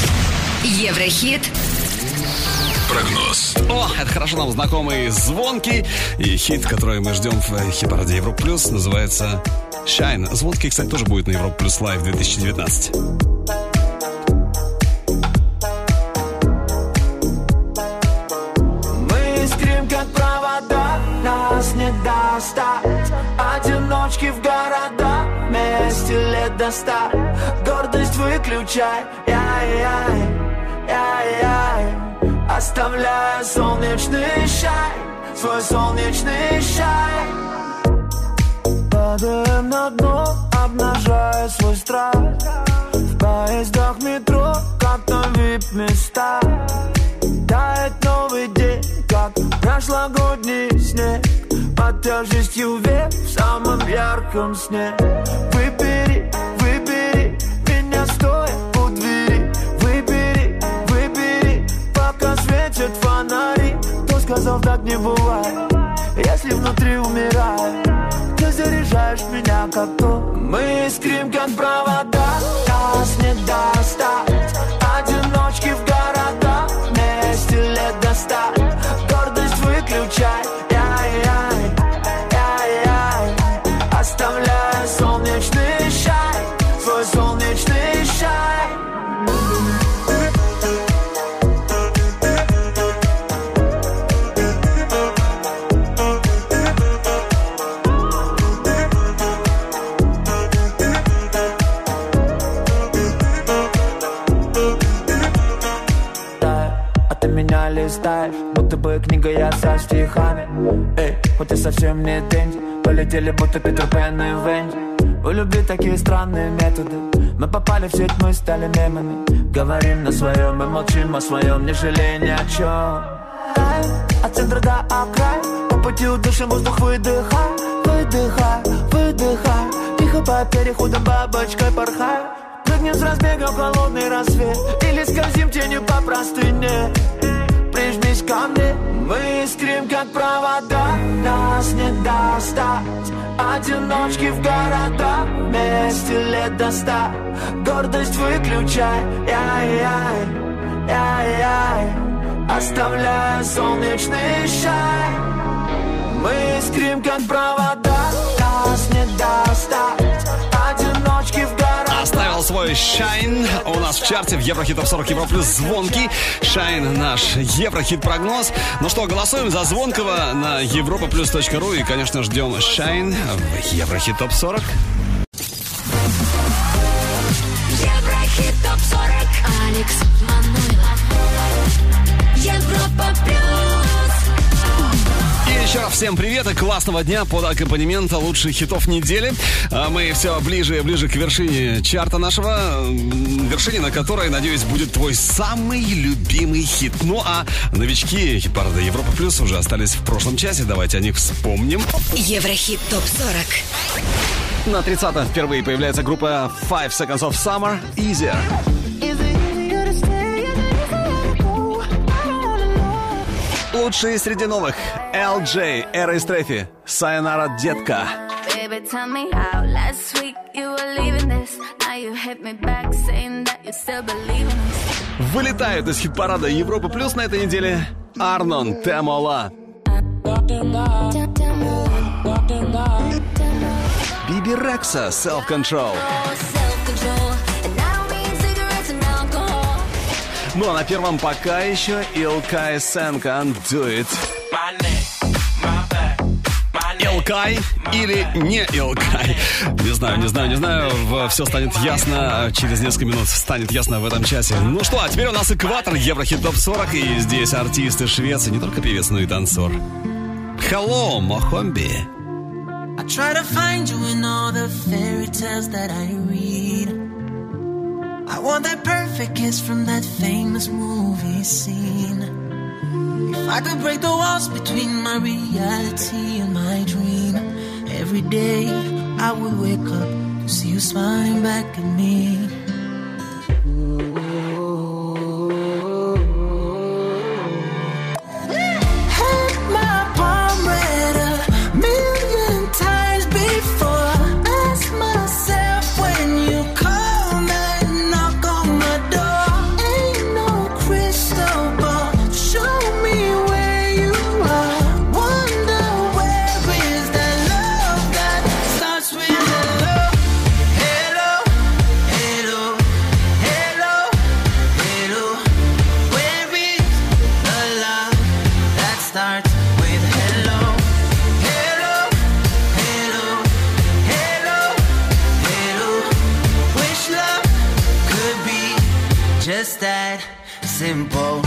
Еврохит. Прогноз. О, это хорошо нам знакомый звонкий. И хит, который мы ждем в хит-параде Европа Плюс, называется Shine. Звонкий, кстати, тоже будет на Европа Плюс Лайв две тысячи девятнадцать. Не достать одиночки в города, вместе лет до ста. Гордость выключай, яй-яй, яй-яй, оставляя солнечный шай, свой солнечный шай. Падаем на дно, обнажая свой страх. В поездах метро, как на вип-места. Тает новый день, как прошлогодний снег, под тяжестью век в самом ярком сне. Выбери, выбери меня стоя у двери. Выбери, выбери, пока светят фонари. Кто сказал, так не бывает, если внутри умирает? Ты заряжаешь меня как то. Мы искрим, как провода, нас не достать. Одиночки в города, вместе лет до ста. Гордость выключай, яй-яй, яй-яй, оставляя солнечный шай, свой солнечный шай. Меня листаешь, будто бы книга я со стихами. Эй, хоть и совсем не денди, полетели будто Питер Пен и Венди. У любви такие странные методы. Мы попали в сеть, мы стали мемами. Говорим на своем и молчим о своем, не жалея ни о чем. От центра до окрая, по пути удышим воздух, выдыхай, выдыхай, выдыхай. Тихо по переходам бабочкой порхай. Прыгнем с разбега в холодный рассвет, или скользим тенью по простыне. Прижмись ко мне, мы искрим, как провода, нас не достать. Одиночки в города, вместе лет до ста. Гордость выключай, яй-яй, яй-яй, оставляя солнечный шай. Мы искрим, как провода, нас не достать. Джой Shine у нас в чарте в Еврохит Топ сорок Европа Плюс. Звонкий Shine, наш Еврохит прогноз. Ну что, голосуем за Звонкого на европа плюс точка ру и, конечно, ждем Shine в Еврохит Топ сорок. Еврохит Топ сорок. Алекс Манойлов. Европа Плюс. И еще раз всем привет и классного дня под аккомпанемент лучших хитов недели. Мы все ближе и ближе к вершине чарта нашего, вершине, на которой, надеюсь, будет твой самый любимый хит. Ну а новички хит-парада Европа Плюс уже остались в прошлом часе. Давайте о них вспомним. Еврохит Топ сорок. На тридцатом впервые появляется группа Five Seconds of Summer, Easier. Лучшие среди новых эл джей, Эра и Стрефи, Сайонара, детка. Вылетают из хит-парада Европа Плюс на этой неделе Арнон, Темола. Биби Рекса, Self Control. Ну а на первом пока еще Илкай Сенка, Do It. Илкай или не Илкай? Не знаю, не знаю, не знаю. Все станет ясно. Через несколько минут станет ясно в этом часе. Ну что, а теперь у нас экватор Еврохит Топ сорок. И здесь артисты Швеции, не только певец, но и танцор. Hello, Мохомби. I try to find you in all the fairy tales that I read. I want that perfect kiss from that famous movie scene. If I could break the walls between my reality and my dream, every day I would wake up to see you smiling back at me. Just that simple.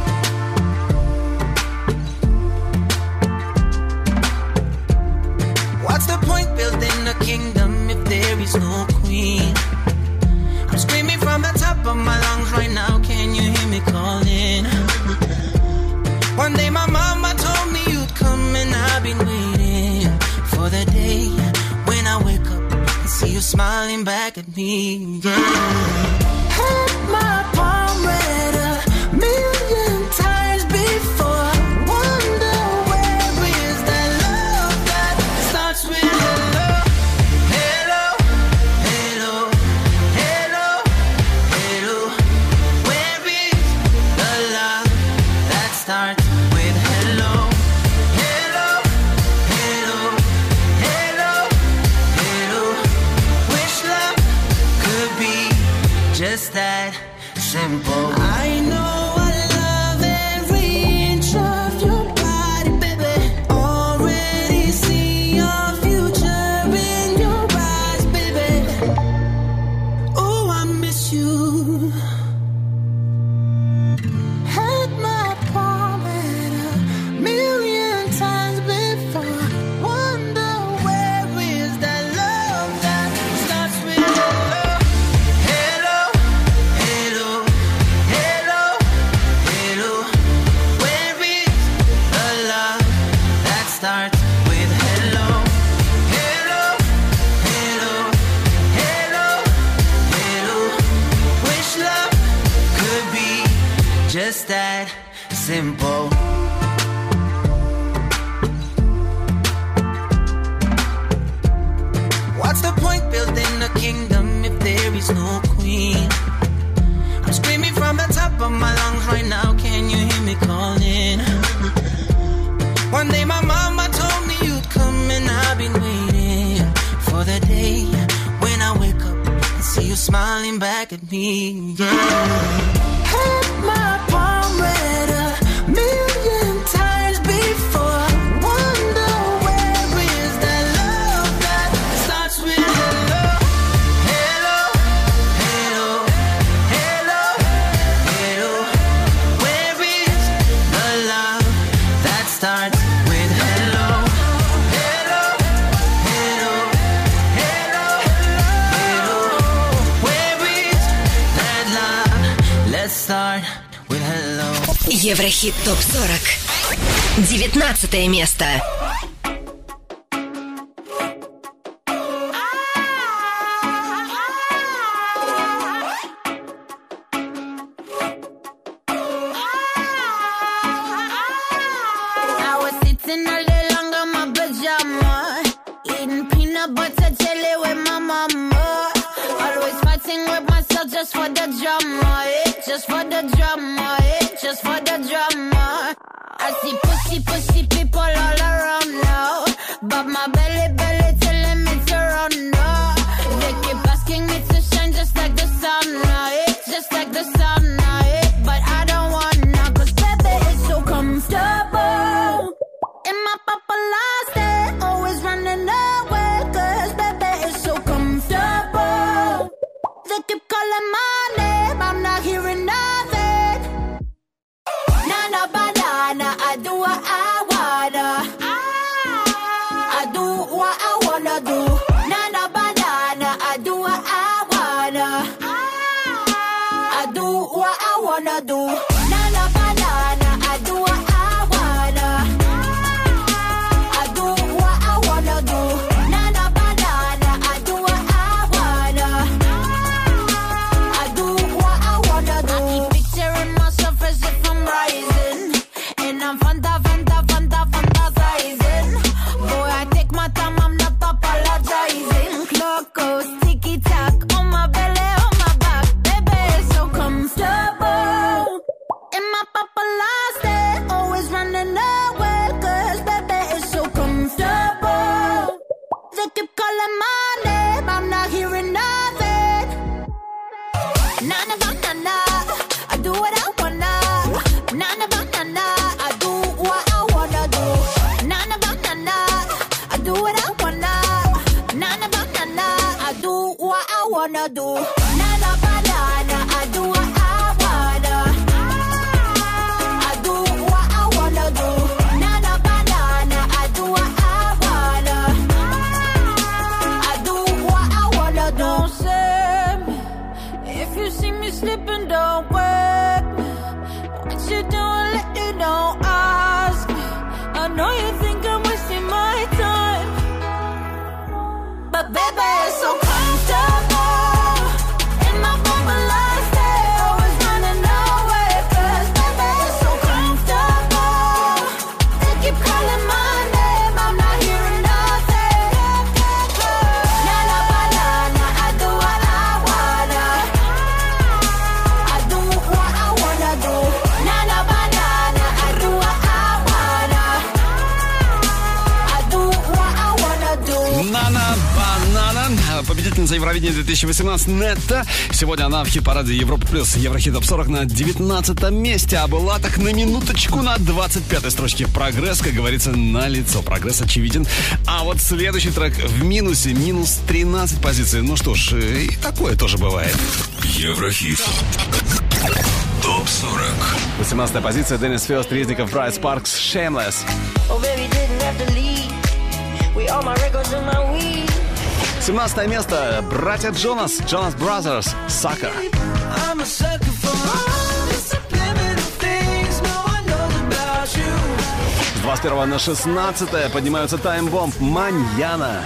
What's the point building a kingdom if there is no queen? I'm screaming from the top of my lungs right now. Can you hear me calling? One day my mama told me you'd come, and I've been waiting for the day when I wake up and see you smiling back at me. Yeah. My palm read a million times before. Wonder where is that love that starts with hello, hello, hello, hello, hello. Where is the love that starts with hello, hello, hello, hello, hello. Wish love could be just that simple. I know I love every inch of your body, baby. Already see your future in your eyes, baby. Oh, I miss you. Had my palm read a million times before. Wonder where is that love that starts with hello. Starts with hello, hello, hello, hello, hello. Wish love could be just that simple. What's the point building a kingdom if there is no queen? I'm screaming from the top of my lungs right now. Can you hear me calling? One day my mama told me you'd come, and I've been waiting for the day when I wake up and see you smiling back at me, yeah. Had my palm read a million times before. Wonder where is that love that starts with hello, hello, hello, hello, hello. Where is the love that starts with hello, hello, hello, hello, hello. Where is that love? Let's start with hello. Еврохит топ сорок. Девятнадцатое место. I was sitting all day long on my pajama, eating peanut butter jelly with my mama. Always fighting with myself just for the drama, eh? Just for the drama, eh? Just for the drama. I see pussy, pussy people all around now, but my belly, belly telling me to run now. They keep asking me to shine just like the sun, eh? Just like the sun, eh? But I don't wanna, cause baby it's so comfortable. In my paparazzi state, always running away, cause baby it's so comfortable. They keep calling my name, I'm not hearing nothing. Nana banana, I do what I wanna. I do what I wanna do. Nana banana, I do what I wanna. I do what I wanna do. Nana banana, I do what I wanna. I do what I wanna do. Nana banana, I do what I wanna. I do what I wanna do. I keep picturing myself as if I'm rising, and I'm fanta, fanta, fanta, fantasizing. Boy, I take my time, I'm not apologizing. Clock goes ticky tock on my belly, on my back. Baby, it's so comfortable. In my paparazzi, always running away, cause baby, it's so comfortable. They keep calling my name, I'm not hearing nothing. Na na na na na, I do what I wanna. Na na na na na, I do what I wanna do. Na na na na na, I do what I wanna. Na na na na na, I do what I wanna do. Na na banana, I do what I wanna. I do what I wanna do. Na na banana, I do what I wanna. I do what I wanna do. Don't say me if you see me sleeping, don't wake me. What you doing lately, don't ask me. I know you think I'm wasting my time, but baby, it's so comfortable. In my paparazzi state, always running away, cause baby, it's so comfortable. They keep calling my name, I'm not hearing nothing. Nana banana, I do what I wanna. I do what I wanna do. Nana banana, I do what I wanna. I do what I wanna do. Нана Банана, победительница Евровидения две тысячи восемнадцать Нетта. Сегодня она в хит-параде Европа Плюс Еврохит топ сорок на девятнадцатом месте. А была так на минуточку на двадцать пятой строчке. Прогресс, как говорится, на лицо. Прогресс очевиден. А вот следующий трек в минусе. Минус тринадцать позиций. Ну что ж, и такое тоже бывает. Еврохит топ сорок. восемнадцатая позиция. Деннис Фёст, Резников, Брайт Спаркс, Shameless. Oh, baby, didn't have to leave. We all my records in my weed. семнадцатое место. Братья Джонас, Jonas Brothers, Sucker. I'm a sucker for all the subliminal things no one knows about you. С двадцать первого на шестнадцатое поднимаются Time Bomb, Маньяна.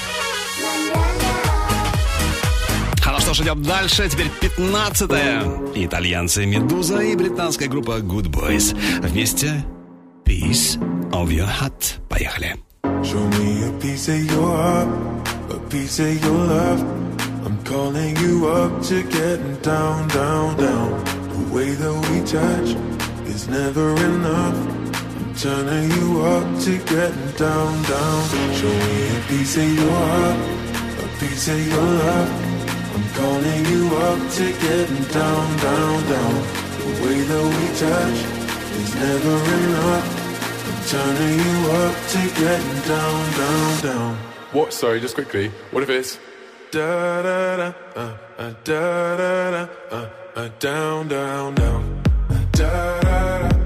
А ну что ж, идем дальше. Теперь пятнадцатое. Итальянцы Медуза и британская группа Good Boys. Вместе Piece of Your Heart. Поехали. Show me a piece of your heart, a piece of your love. I'm calling you up to getting down, down, down. The way that we touch is never enough. I'm turning you up to getting down, down. Show me a piece of your heart, a piece of your love. I'm calling you up to getting down, down, down. The way that we touch is never enough. I'm turning you up to getting down, down, down. What? Sorry, just quickly. What if it's da da da uh, uh, da da da uh, uh, down, down, down. Da da da.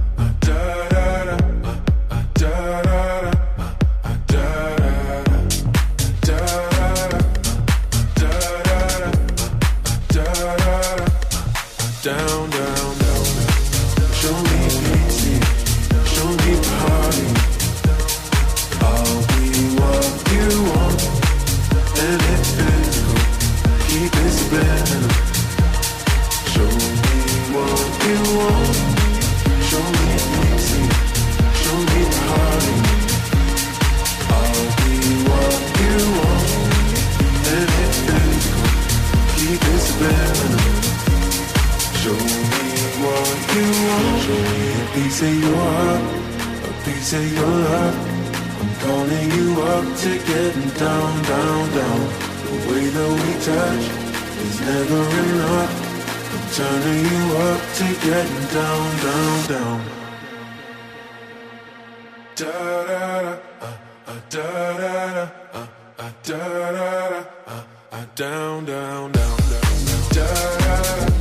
Down, down, down. Show me pity, show me party. I'll be what you want, and it's physical. Keep it spinning. Show me what you want. Show me pity, show me party. I'll be what you want, and it's physical. Keep it spinning. Show me what you want. Show me a piece of your heart, a piece of your love. I'm calling you up to getting down, down, down. The way that we touch is never enough. I'm turning you up to getting down, down, down. Da da da, uh, uh, da da da, uh, uh, da da da, uh, uh, down, down, down, down, da da da.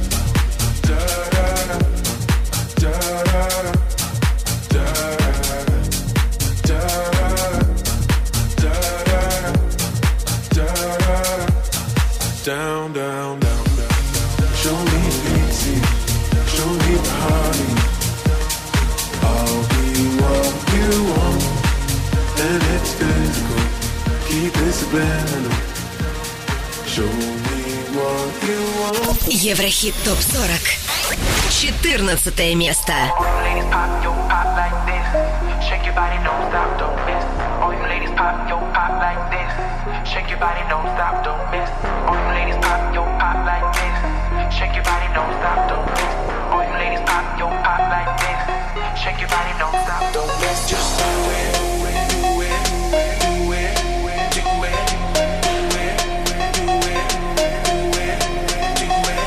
Down, down, down, down. Show me pity, show me party. I'll be what you want, and it's physical. Keep it subliminal. Show me what you want. Еврохит топ сорок. четырнадцатое место. Ladies pop, yo, pop like this. Shake your body, don't stop, don't miss. All you ladies pop, yo, pop like this. Shake your body, don't stop, don't miss. All you ladies pop, yo, pop like this. Shake your body, don't stop, don't miss. All you ladies pop, yo, pop like this. Shake your body, don't stop, don't miss. Just do it, do it, do it, do it, do it, do it, do it, do it.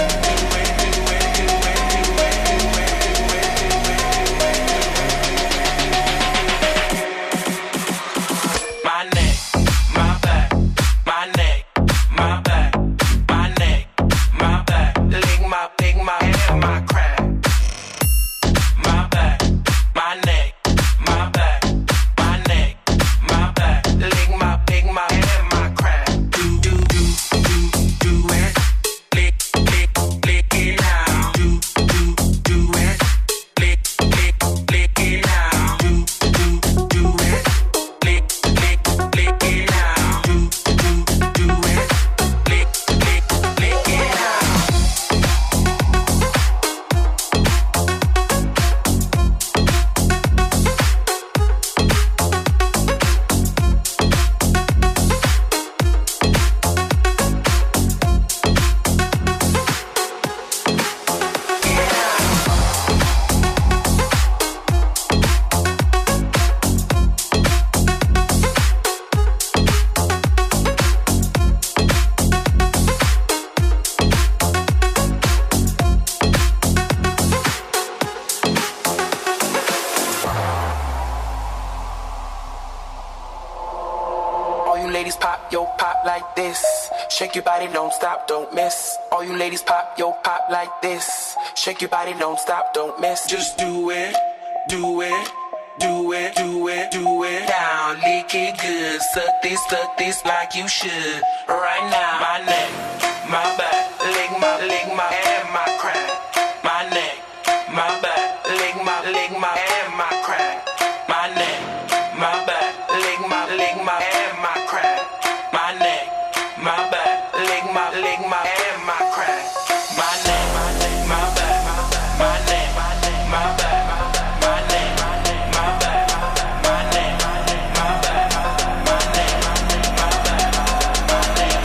Shake your body, don't stop, don't miss. All you ladies pop, yo, pop like this. Shake your body, don't stop, don't miss. Just do it, do it, do it, do it, do it. Down, lick it good. Suck this, suck this like you should. Right now, my neck, my back, lick my, lick my, and my crack. My neck, my back, lick my, lick my, and my crack. My neck, my back, lick my, lick my, and my crack. My neck, my back. Lick my, lick my, and my crack. My neck, my neck, my back, my neck, my neck, my back, my neck, my back, my neck, my back, my neck, my back, my neck,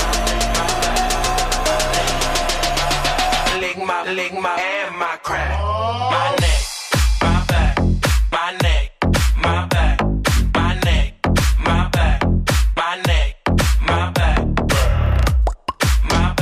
my back. Lick my, lick my, and my crack. My neck, my back, my neck, my back, my neck, my back, my neck, my back. My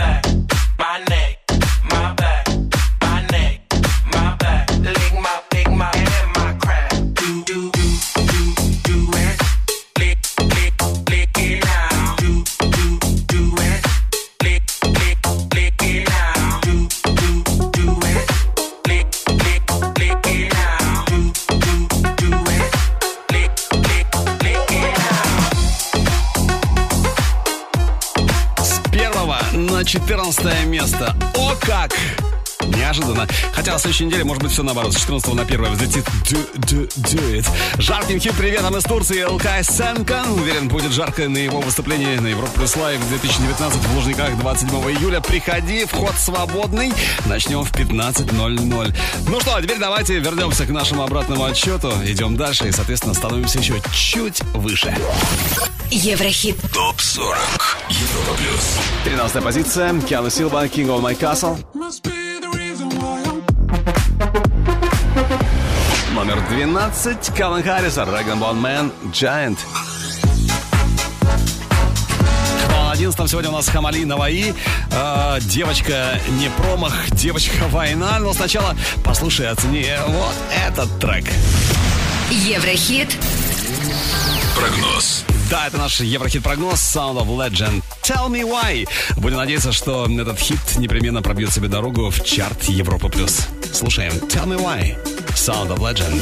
на четырнадцатое место. О как! Неожиданно. Хотя на следующей неделе, может быть, все наоборот. С четырнадцатого на первое взлетит do, do, do it. Жарким хит приветом из Турции Илкай Сенкан. Уверен, будет жарко на его выступлении на Европа Плюс Лайв две тысячи девятнадцать в Лужниках двадцать седьмого июля. Приходи, вход свободный. Начнем в пятнадцать ноль ноль. Ну что, а теперь давайте вернемся к нашему обратному отсчету. Идем дальше и, соответственно, становимся еще чуть выше. Еврохит. Топ сорок. Европа Плюс. тринадцатая позиция. Киану Силва, King of My Castle. Номер двенадцать. Калвин Харрис, Dragon Bone Man, Giant. На одиннадцатом сегодня у нас Хамали Наваи. Э, девочка не промах, девочка война. Но сначала послушай, оцени вот этот трек. Еврохит. Прогноз. Да, это наш Еврохит-прогноз Sound of Legend. Tell me why. Будем надеяться, что этот хит непременно пробьет себе дорогу в чарт Европа+. Слушаем Tell me why. Sound of Legend.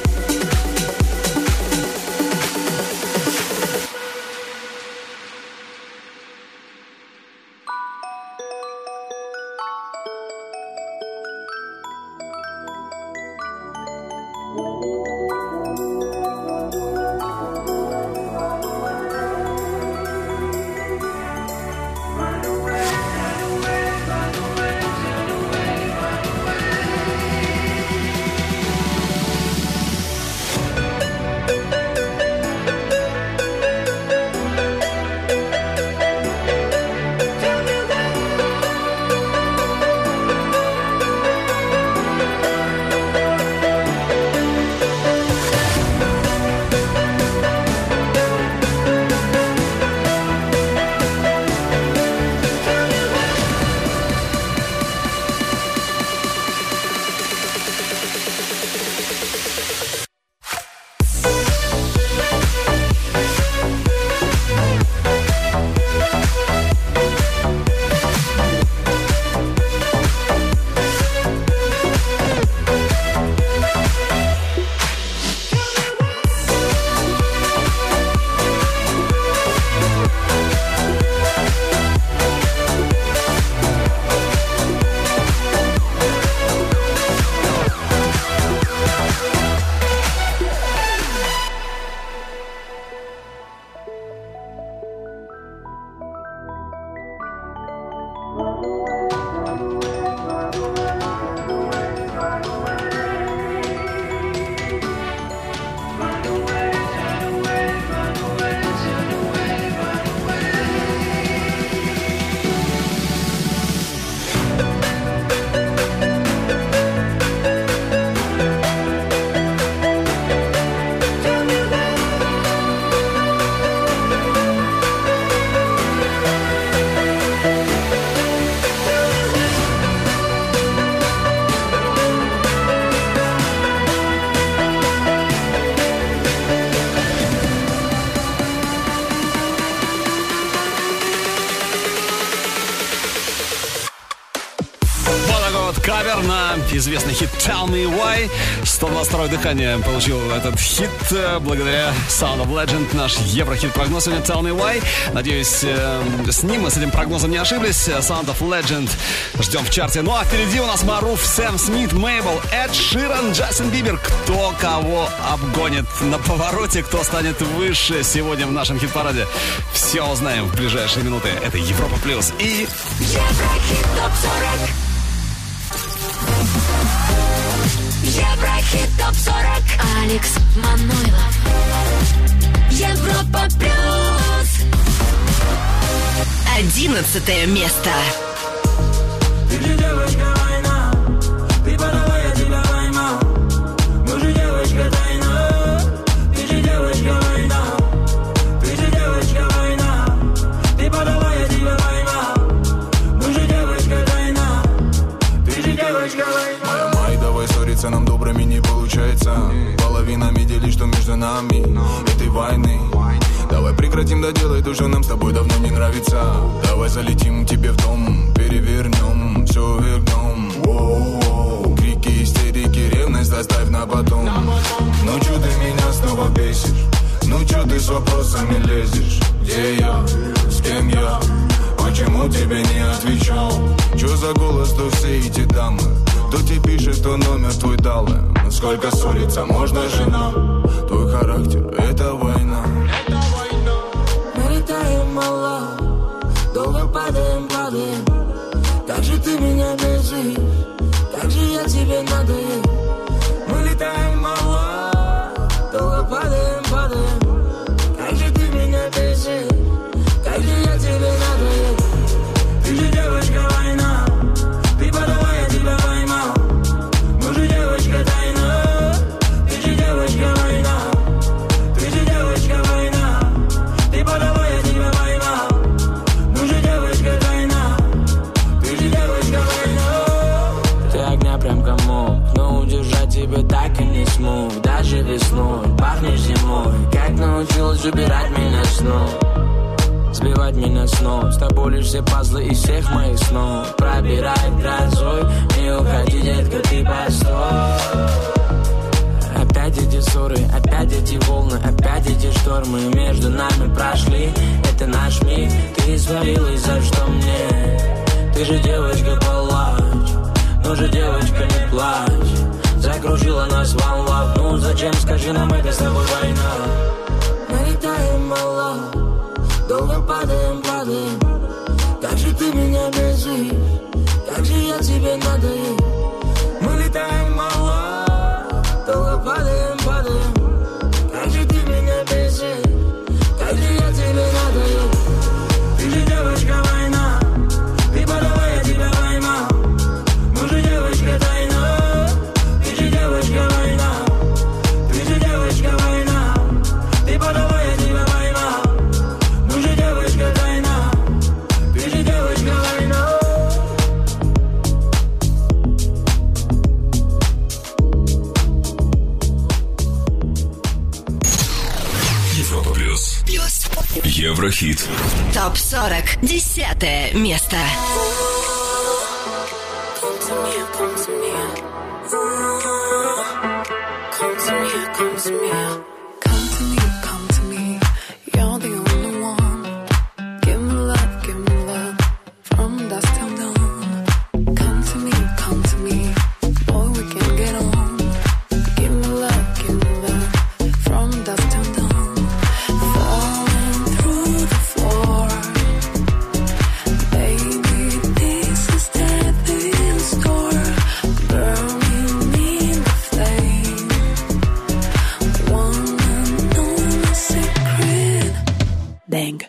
Кавер на известный хит Tell Me Why. сто двадцать второе дыхание получил этот хит благодаря Sound of Legend. Наш Еврохит-прогноз сегодня Tell Me Why. Надеюсь, с ним мы с этим прогнозом не ошиблись. Sound of Legend ждем в чарте. Ну а впереди у нас Маруф, Сэм Смит, Мейбл, Эд Ширан, Джастин Бибер. Кто кого обгонит на повороте, кто станет выше сегодня в нашем хит-параде. Все узнаем в ближайшие минуты. Это Европа Плюс и Еврохит топ сорок. Еврохит топ сорок. Алекс Манойлов. Европа Плюс. Одиннадцатое место. Ты же девочка война, ты подавай, я тебя поймал. Мы же девочка тайна, ты же девочка война, ты же девочка война, ты подавай, я тебя поймал. Мы же девочка тайна, ты же девочка война. Моя май, давай ссориться нам добрыми не получается. Половинами делить, что между нами этой войны. Давай прекратим доделать то, что нам с тобой давно не нравится. Давай залетим тебе в дом, перевернем, все вернем. Воу-воу. Крики, истерики, ревность оставь на потом. Ну чё ты меня снова бесишь? Ну чё ты с вопросами лезешь? Где я? С кем я? почему тебе не отвечал? Чё за голос, то все эти дамы? Кто тебе пишет, кто номер твой дал им? Сколько ссориться можно, жена? Твой характер — это война. Мы летаем мало, долго падаем, падаем. Как же ты меня бесишь, как же я тебе надоел. Мы летаем мало, долго падаем, падаем. Как же ты меня бесишь, как же я тебе надоел. Ты же девочка война, ты подавай, я тебя поймал. Мы же девочка тайна, ты же девочка война. Ты же девочка война, ты подавай, я тебя поймал. Мы же девочка тайна, ты же девочка война. Ты огня прям комок, но удержать тебя так и не смог. Даже весной пахнешь зимой, как научилась убирать меня снова. Сбивать меня с ног, с тобой лишь все пазлы из всех моих снов. Пробирает грозой, не уходи, детка, ты постой. Опять эти ссоры, опять эти волны, опять эти штормы между нами прошли. Это наш миг, ты свалилась, за что мне? Ты же девочка, палач, ну же девочка, не плачь. Закружила нас волна, ну зачем, скажи нам, это с тобой война. Мы летаем мало, долго падаем, падаем. Как же ты меня бесишь, как же я тебе надоел. Мы летаем мало, долго падаем, падаем. Как же ты меня бесишь, как же я тебе надоел. Ты же девочка война, ты подавай, я тебя поймал. Мы же девочка тайна, ты же девочка война. Ты же девочка война, ты подавай, я тебя поймал. Мы же девочка тайна, ты же девочка война. Европа плюс. Плюс. Еврохит. Топ сорок. Десятое место. Come to me, come to me. Come to me, come to me. Come to me, come to me. You're the only one. Give me love, give me love. From dusk till dawn. Come to me, come to me. Boy, we can get on. Give me love, give me love. From dusk till dawn. Falling through the floor. Baby, this is death in store. Burning in the flame. Wanna know my secret? Bang.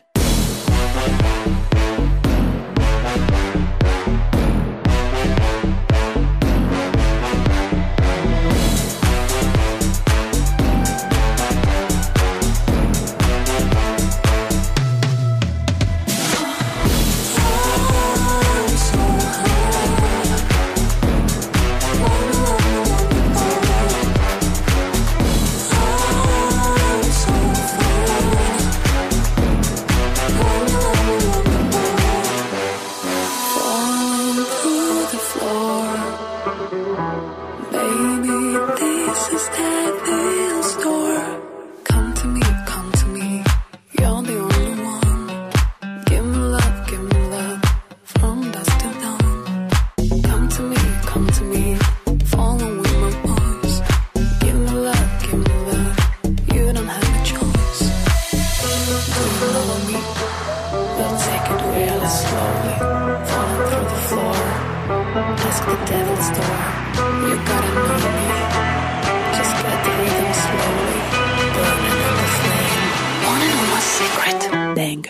Falling through the floor. Baby, this is death in store. Come to me, come to me. You're the only one. Give me love, give me love. From dusk till dawn. Come to me, come to me. Follow with my voice. Give me love, give me love. You don't have a choice. Do you follow me? We'll take it really slowly. Falling through the floor. Ask the devil's door. You gotta know me. Just get the rhythm slowly. Burning in the flame. Wanna know my secret? Bang.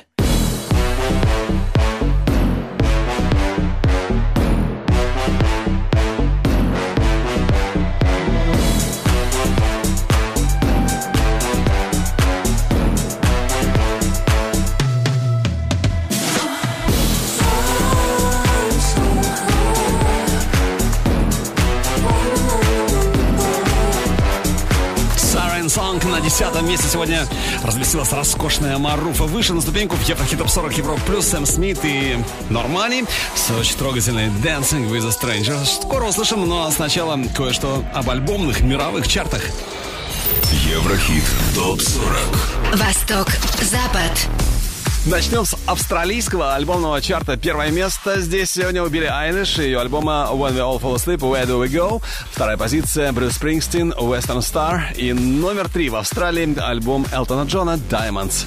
Siren Song на десятом месте сегодня развеселась роскошная Маруфа. Выше на ступеньку в Еврохит Топ сорок Европа плюс Сэм Смит и Нормани с очень трогательной Dancing with a Stranger. Скоро услышим, но сначала кое-что об альбомных мировых чартах. Еврохит Топ сорок. Восток, Запад. Начнем с австралийского альбомного чарта. Первое место здесь сегодня у Билли Айлиш и ее альбома When We All Fall Asleep, Where Do We Go. Вторая позиция Брюс Спрингстин, Western Star. И номер три в Австралии альбом Элтона Джона Diamonds.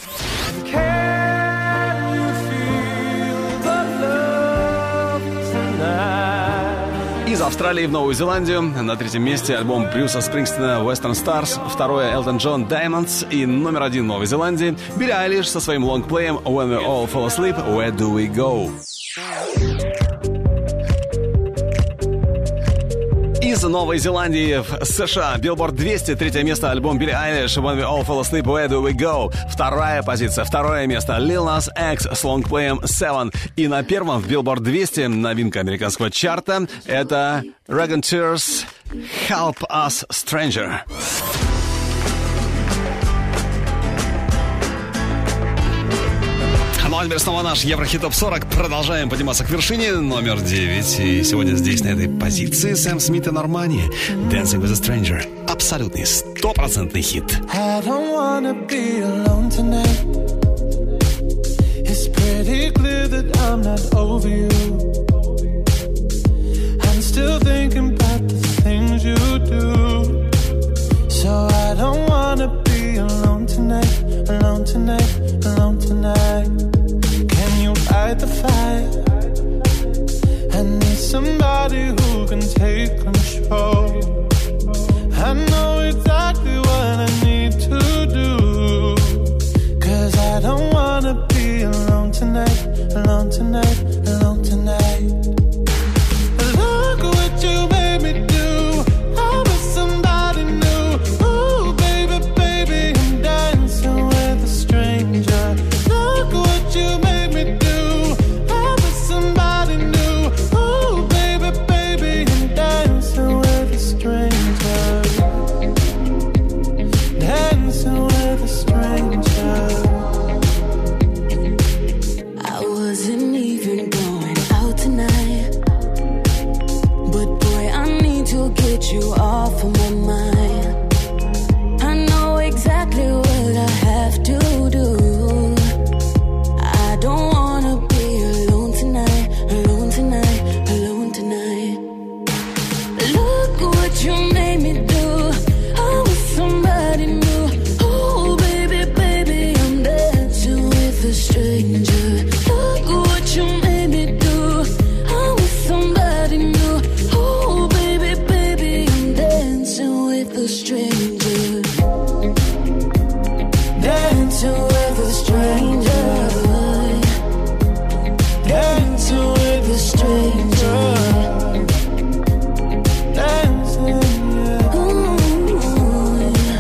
Из Австралии в Новую Зеландию. На третьем месте альбом Брюса Спрингстина Western Stars. Второе Элтон Джон Diamonds. И номер один в Новой Зеландии Билли Айлиш со своим лонгплеем When We All Fall Asleep, Where Do We Go. Из Новой Зеландии в США Billboard двести, третье место альбом Билли Айлиш When We All Fall Asleep, Where Do We Go. Вторая позиция, второе место Lil Nas X с лонгплеем Seven. И на первом в Billboard двести новинка американского чарта это Raconteurs Help Us Stranger. Ну а теперь снова наш Еврохит Топ сорок. Продолжаем подниматься к вершине. Номер девять. И сегодня здесь, на этой позиции, Сэм Смит и Нормани. Dancing with a Stranger. Абсолютный, стопроцентный хит. I don't wanna be alone tonight. It's pretty clear that I'm not over you. I'm still thinking about the things you do. So I don't wanna be alone tonight. Alone tonight, alone tonight. Can you fight the fight? I need somebody who can take control. I know exactly what I need to do. Cause I don't wanna be alone tonight. Alone tonight, alone tonight. Look what you made me do. I was somebody new. Ooh, baby, baby, I'm dancing with a stranger. Look what you made me do. I was somebody new. Ooh, baby, baby, I'm dancing with a stranger. Dancing with a stranger. I wasn't even going out tonight, but boy, I need to get you off of my mind. I know exactly what I have to do. I don't wanna be alone tonight, alone tonight, alone tonight. Look what you made me do. I was somebody new. Oh baby, baby, I'm dancing with a stranger. Look what you made me do. I was somebody new. Oh baby, baby, I'm dancing with a stranger. Dancing with a stranger. Dancing with a stranger. Dancing, yeah. Ooh, yeah.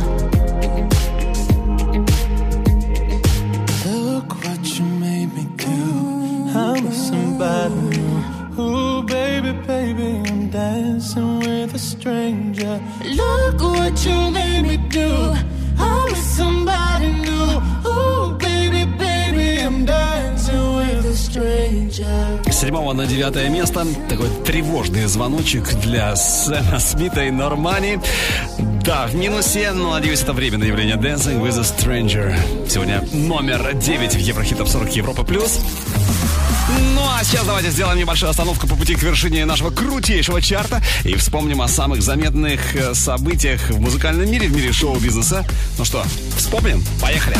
Look what you made me do. I'm somebody new. Ooh, baby, baby, I'm dancing with a stranger. Look what you made me do. I'm somebody new. Ooh, baby, baby, I'm dancing with a stranger. С седьмого на девятое место такой тревожный звоночек для Сэма Смита и Нормани. Да, в минусе, но, надеюсь, это временное явление. Dancing with a Stranger. Сегодня номер девять в Еврохит Топ сорок Европа плюс. Ну а сейчас давайте сделаем небольшую остановку по пути к вершине нашего крутейшего чарта и вспомним о самых заметных событиях в музыкальном мире, в мире шоу-бизнеса. Ну что, вспомним? Поехали!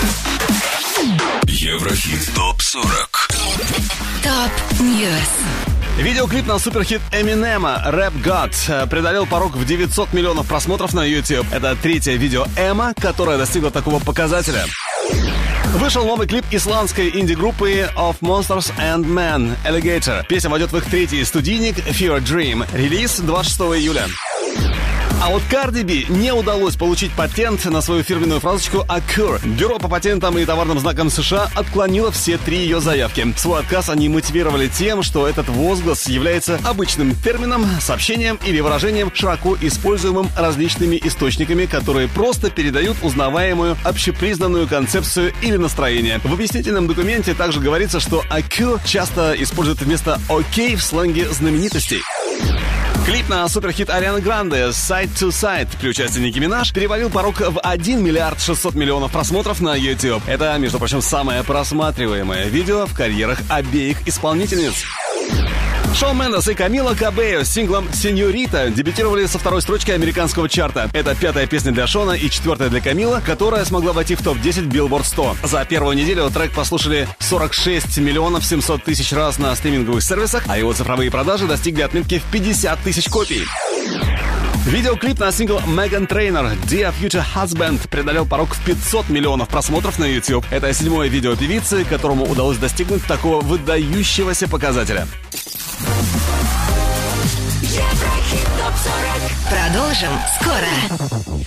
Еврохит Топ сорок. Топ Ньюс. Видеоклип на суперхит Эминема «Rap God» преодолел порог в девятьсот миллионов просмотров на YouTube. Это третье видео Эма, которое достигло такого показателя. Вышел новый клип исландской инди-группы Of Monsters and Men Alligator. Песня войдет в их третий студийник Fever Dream. Релиз двадцать шестого июля. А вот Cardi B не удалось получить патент на свою фирменную фразочку «Occur». Бюро по патентам и товарным знакам США отклонило все три ее заявки. Свой отказ они мотивировали тем, что этот возглас является обычным термином, сообщением или выражением, широко используемым различными источниками, которые просто передают узнаваемую общепризнанную концепцию или настроение. В объяснительном документе также говорится, что «Occur» часто используют вместо «OK» в сленге знаменитостей. Клип на суперхит Арианы Гранде «Side to Side» при участии Ники Минаж перевалил порог в один миллиард шестьсот миллионов просмотров на YouTube. Это, между прочим, самое просматриваемое видео в карьерах обеих исполнительниц. Шон Мендес и Камила Кабео с синглом «Сеньорита» дебютировали со второй строчки американского чарта. Это пятая песня для Шона и четвертая для Камила, которая смогла войти в топ десять Billboard сто. За первую неделю трек послушали сорок шесть миллионов семьсот тысяч раз на стриминговых сервисах, а его цифровые продажи достигли отметки в пятьдесят тысяч копий. Видеоклип на сингл Meghan Trainor «Dear Future Husband» преодолел порог в пятьсот миллионов просмотров на YouTube. Это седьмое видео певицы, которому удалось достигнуть такого выдающегося показателя. Еврохит топ сорок. Продолжим скоро.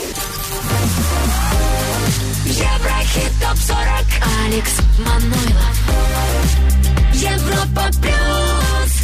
Еврохит топ сорок. Алекс Манойлов. Европа плюс.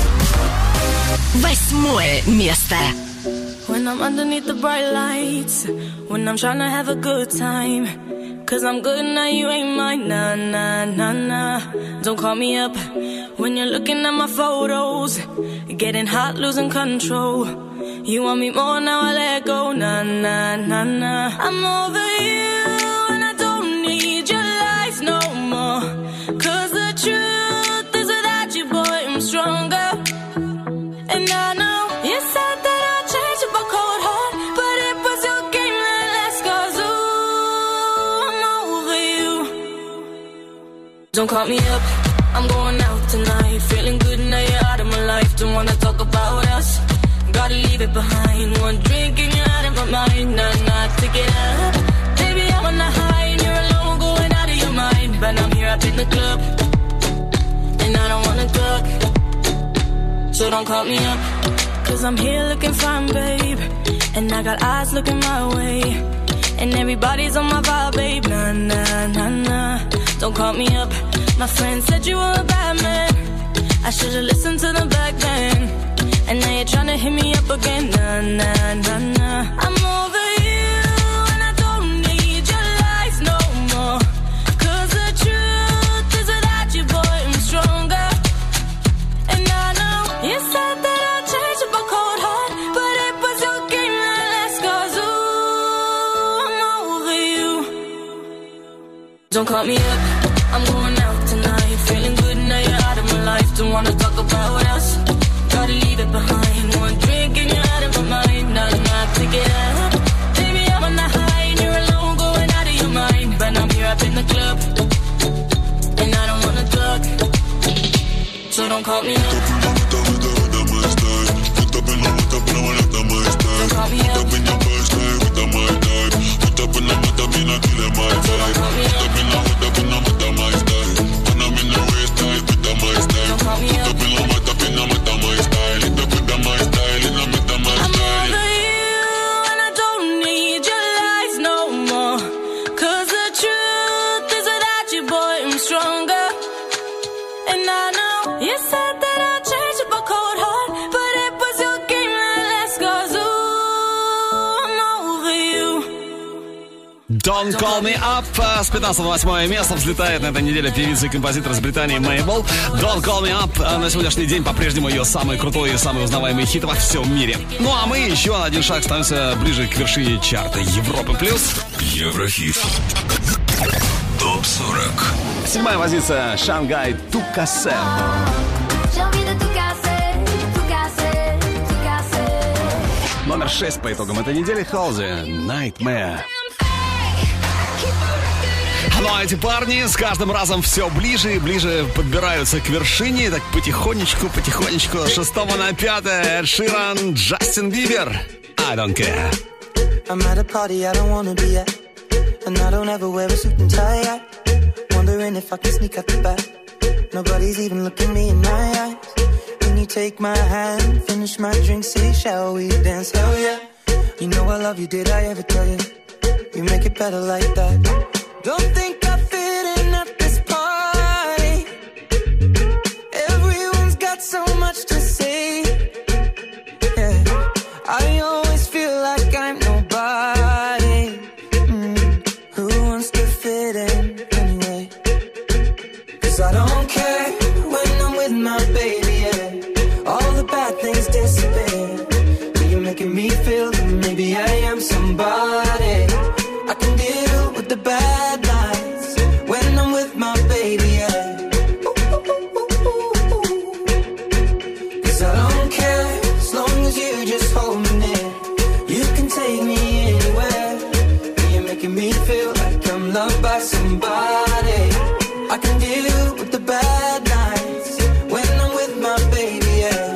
Восьмое место. When I'm underneath the bright lights, when I'm trying to have a good time, cause I'm good now, you ain't mine, nah, nah, nah, nah. Don't call me up when you're looking at my photos, getting hot, losing control. You want me more, now I let go, nah, nah, nah, nah. I'm over you and I don't need your lies no more, cause the truth is without you, boy, I'm stronger. And I know you said that I'd change up a cold heart, but it was your game that last, cause ooh, I'm over you. Don't call me up, I'm going out tonight, feeling good now you're out of my life. Don't wanna talk about us, gotta leave it behind. One drink and you're out of my mind, nah, nah, take it up. Baby, I'm on the high and you're alone, going out of your mind. But I'm here up in the club, and I don't wanna talk, so don't call me up, cause I'm here looking fine, babe, and I got eyes looking my way, and everybody's on my vibe, babe, nah, nah, nah, nah. Don't call me up, my friend said you were a bad man, I should've listened to them back then, and now you're tryna hit me up again, nah, nah, nah, nah. I'm over you, and I don't need your lies no more, cause the truth is without you, boy, I'm stronger. And I know you said that I'd change up a cold heart, but it was your game that last, cause ooh, I'm over you. Don't call me up, I'm going out tonight, feeling good now you're out of my life. Don't wanna talk about us, gotta leave it behind. One drink and you're out of my mind, nah, nah, take it up. Baby, I'm on the high and you're alone, going out of your mind. But I'm here up in the club, and I don't wanna talk, so don't call me up. Don't call me up. Don't Call Me Up. С пятнадцатого на восьмое место взлетает на этой неделе певица и композитор из Британии Мейбл. Don't Call Me Up на сегодняшний день по-прежнему ее самый крутой и самый узнаваемый хит во всем мире. Ну а мы еще на один шаг становимся ближе к вершине чарта Европы плюс. Еврохит. топ сорок. Седьмая позиция. Шангай Тукасе. Номер шесть по итогам этой недели. Халзи Nightmare. Ну а эти парни с каждым разом все ближе и ближе подбираются к вершине. Так потихонечку, потихонечку. С шестого на пятое. Эд Ширан, Джастин Бибер. I don't care. I'm at a party I don't wanna be at, and I don't ever wear a suit and tie at. Wondering if I can sneak out the back. Nobody's even looking me in my eyes. Can you take my hand, finish my drink, say shall we dance? Hell yeah. You know I love you, did I ever tell you? You make it better like that. Don't think I fit in at this party. Everyone's got so much to say. Yeah, I always feel like I'm nobody. Mm. Who wants to fit in anyway? Cause I don't care when I'm with my baby, yeah. All the bad things dissipate. the bad nights when I'm with my baby, yeah. Cause I don't care as long as you just hold me near. You can take me anywhere. You're making me feel like I'm loved by somebody. I can deal with the bad nights when I'm with my baby, yeah.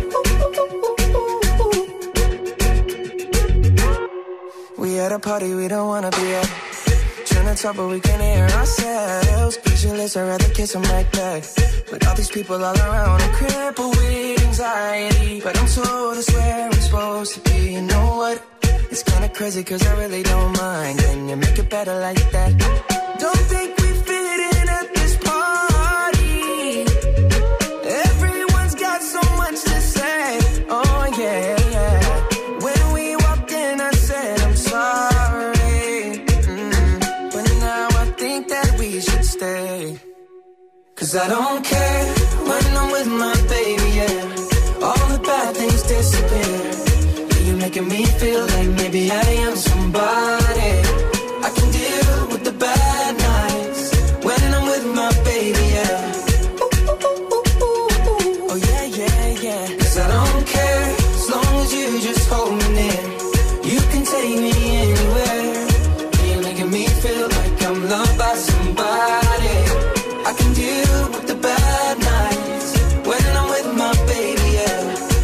We at a party we don't wanna be at. Trying to talk but we can't hear ourselves. Pictureless, I'd rather kiss them right back. With all these people all around, I'm crippled with anxiety. But I'm told it's where I'm supposed to be. You know what? It's kinda crazy cause I really don't mind. Can you make it better like that? Don't think we fit in at this party. Everyone's got so much to say. Oh yeah, yeah. When we walked in I said I'm sorry, mm. But now I think that we should stay. Cause I don't care when I'm with my baby, yeah. All the bad things disappear. You're making me feel like maybe I am somebody. I can deal with the bad nights when I'm with my baby, yeah. Oh yeah, yeah, yeah. Cause I don't care as long as you just hold me near. You can take me anywhere. You're making me feel like I'm loved by somebody. I can deal with the bad nights when I'm with my baby, yeah.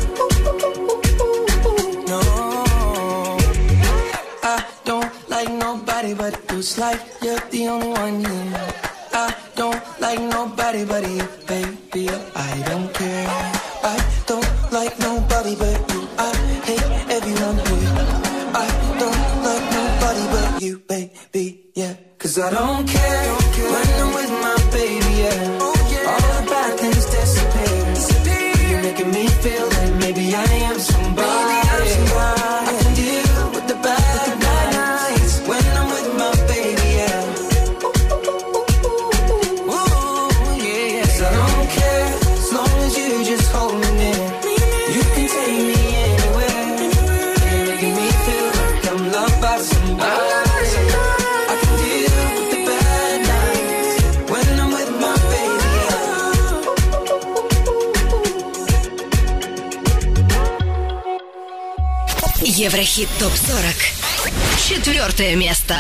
But it feels like you're the only one here. I don't like nobody but you, baby. I don't care. I don't like nobody but you. I hate everyone here. I don't like nobody but you, baby, yeah. Cause I don't care when I'm with my baby, yeah. All the bad things disappear. You're making me feel like maybe I am somebody. I can deal with the bad nights when I'm with my baby, yeah. Ooh, yeah. Cause I don't care as long as you just hold me near. You can take me anywhere. You're making me feel like I'm loved by somebody. I can deal with the bad nights when I'm with my baby, yeah. Еврохит топ сорок. Четвертое место.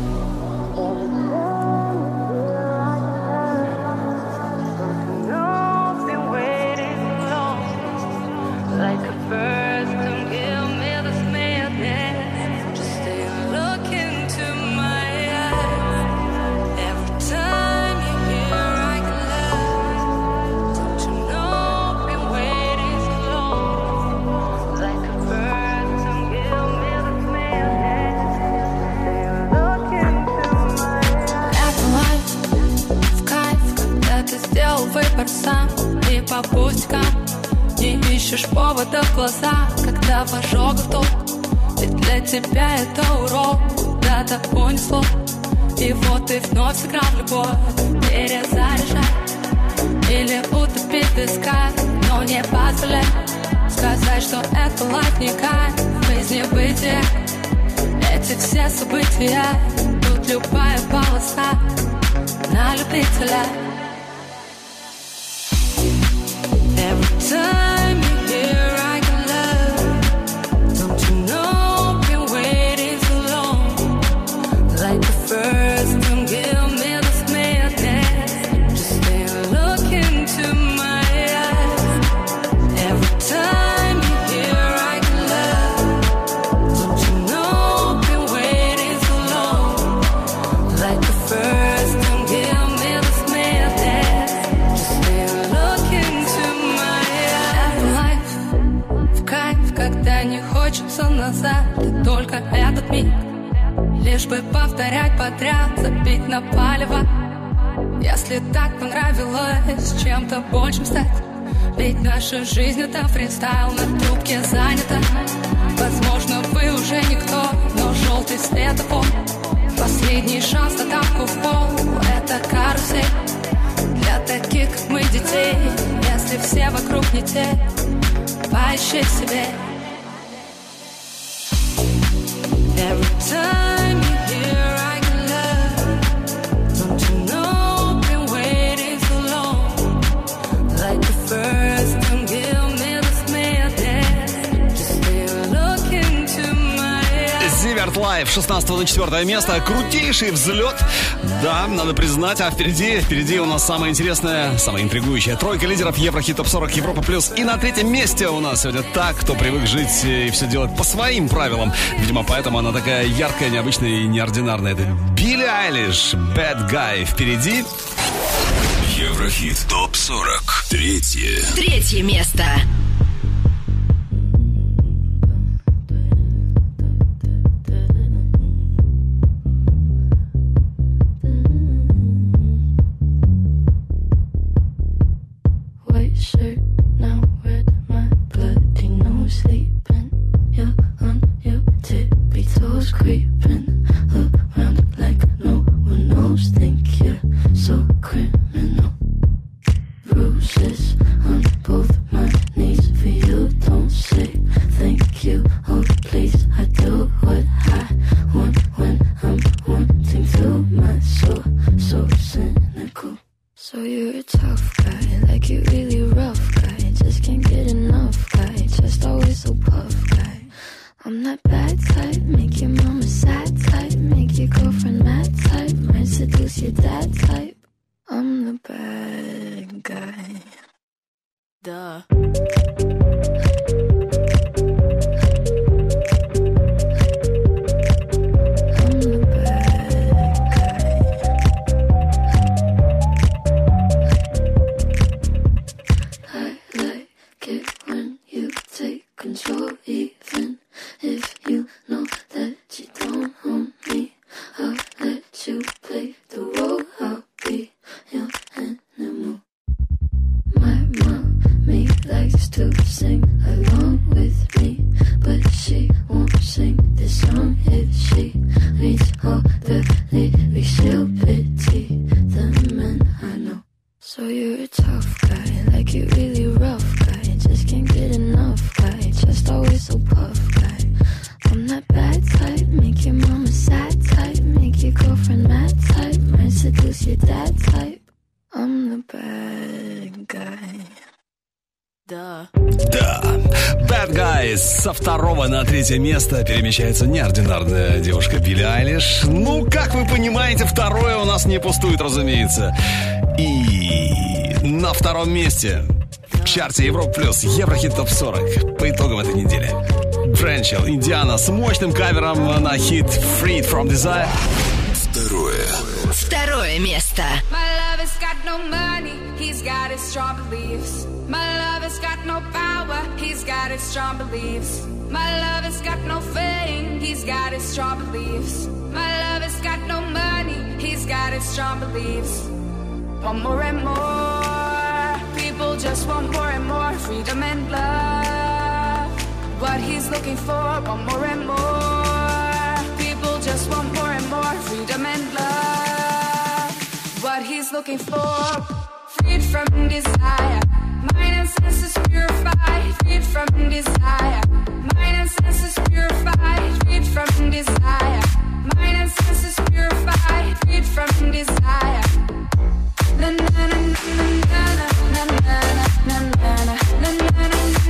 Выбор сам и по пустякам. Не ищешь повода в глаза, когда в ожогах топ. Ведь для тебя это урок, куда-то понесло. И вот ты вновь сыграл в любовь. Перезаряжай или утопить в песках, но не позволяй сказать, что это лайф не кайф. Жизнь бытия, эти все события. Тут любая полоса на любителя. Every time you're here, I can love. Don't you know, been waiting so long. Like the first time, give me this madness. Just stay and look into my eyes. Every time you're here, I can love. Don't you know, been waiting so long. Like the first time, give me this madness. Just stay and look into когда не хочется назад, и только этот миг. Лишь бы повторять подряд, забить на палево. Если так понравилось чем-то большим стать. Ведь наша жизнь это фристайл, на трубке занята. Возможно, вы уже никто, но желтый светофор. Последний шанс на тапку в пол, это карусель. Для таких, как мы, детей, если все вокруг не те, поищи в себе. Every time you're here, I can love. Life с шестнадцатого на четвертое место. Крутейший взлет. Да, надо признать. А впереди, впереди у нас самая интересная, самая интригующая тройка лидеров Еврохит Топ сорок Европа Плюс. И на третьем месте у нас сегодня та, кто привык жить и все делать по своим правилам. Видимо, поэтому она такая яркая, необычная и неординарная. Это Билли Айлиш, Bad Guy. Впереди Еврохит Топ сорок. Третье. Третье место. White shirt, now red, my bloody nose sleeping. You're on your tippy toes creeping around like no one knows. Think you're so criminal. Bruises on both my knees for you. Don't say thank you. Oh please, I do what I want when I'm wanting to. My soul so cynical. So you're a tough guy, like you really rough guy. Just can't get enough guy, just always so puff guy. I'm that bad type, make your mama sad type, make your girlfriend mad type, might seduce your dad type. I'm the bad guy. Duh. Control, even if you know that you don't own me. I'll let you play the role. I'll be your animal. My mommy likes to sing along with me, but she won't sing this song if she reads all the lyrics. She'll pity the men I know. So you're a tough guy, like you really rough guy. Just can't get enough guy, just always so puff guy. I'm that bad type, make your mama sad type, make your girlfriend mad type, might seduce your dad type. I'm the bad guy. Да. Да. Bad Guys со второго на третье место перемещается неординарная девушка Билли Айлиш. Ну, как вы понимаете, второе у нас не пустует, разумеется. И на втором месте в чарте Европа Плюс Еврохит Топ сорок по итогам этой недели. Френчел, Индиана с мощным кавером на хит Freed From Desire. Второе. Второе место. My love has got no money, he's got his strong beliefs. My love has got no power, he's got his strong beliefs. My love has got no fame, he's got his strong beliefs. My love has got no money, he's got his strong beliefs. Want more and more, people just want more and more freedom and love. What he's looking for, want more and more, people just want more and more freedom and love. What he's looking for, freed from desire, mind and senses purified, freed from desire, mind and senses purified, freed from desire, mind and senses purified, freed from desire. Na na na na na na na na na na na na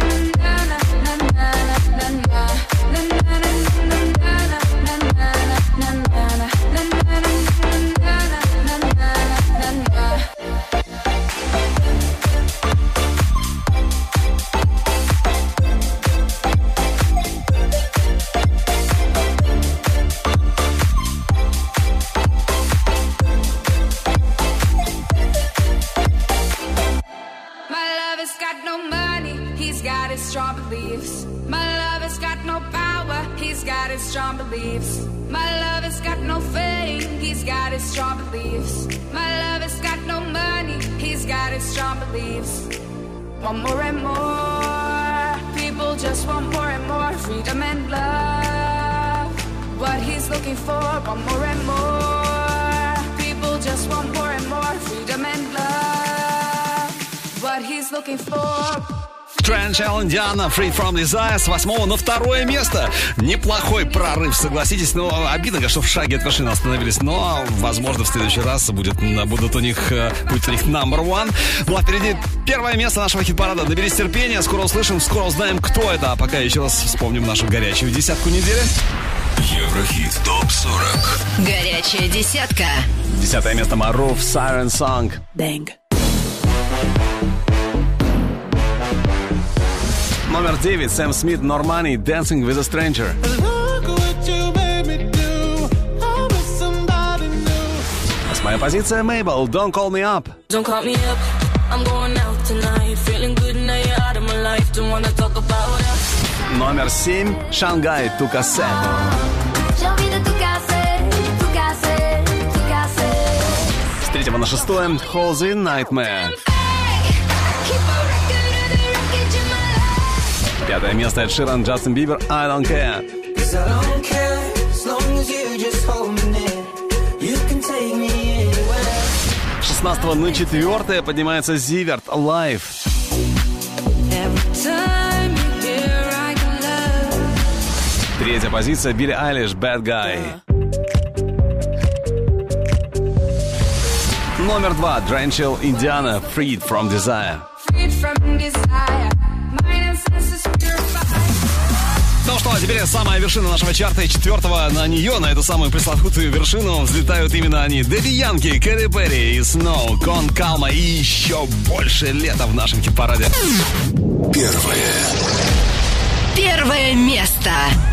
strong beliefs. My love has got no power, he's got his strong beliefs. My love has got no fame, he's got his strong beliefs. My love has got no money, he's got his strong beliefs. Want more and more, people just want more and more freedom and love. What he's looking for, want more and more, people just want more and more freedom and love. What he's looking for. Френчел, Индиана, Freed From Desire с восьмого на второе место. Неплохой прорыв, согласитесь. Но обидно, что в шаге от вершины остановились. Но, возможно, в следующий раз будет, будут у них, будет у них number one. Ну а впереди первое место нашего хит-парада. Наберись терпения, скоро услышим, скоро узнаем, кто это. А пока еще раз вспомним нашу горячую десятку недели. Еврохит топ сорок. Горячая десятка. Десятое место Марув, Siren Song. Bang. Номер девять Сэм Смит, Normani, Dancing with a Stranger. Восьмая позиция Мейбл, Don't Call Me Up. Don't call me up. I'm going out tonight. Feeling good now you're out of my life. Don't wanna talk about us. Номер семь Шангай, Тукасе. С третьего на шестое Холзи, Nightmare. Пятое место Эд Ширан, Джастин Бибер, I Don't Care. С шестнадцатого на четвертое поднимается Зиверт, Live. Третья позиция Билли Айлиш, Bad Guy. Номер два Дрэнчел, Индиана, Freed from Desire. Ну что, а теперь самая вершина нашего чарта, и четвертого на нее, на эту самую пресловутую вершину, взлетают именно они. Дэдди Янки, Кэрри Перри и Snow, Кон Калма и еще больше лета в нашем хит-параде. Первое. Первое место.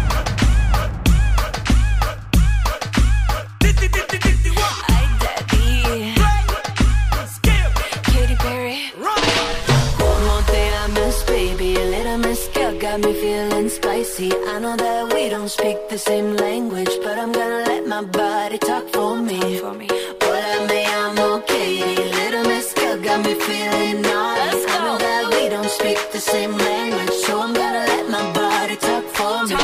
Got me feeling spicy. I know that we don't speak the same language, but I'm gonna let my body talk for me. Hola, me llamo Katie. Little Miss Girl got me feeling naughty. I know that we don't speak the same language, so I'm gonna let my body talk for me.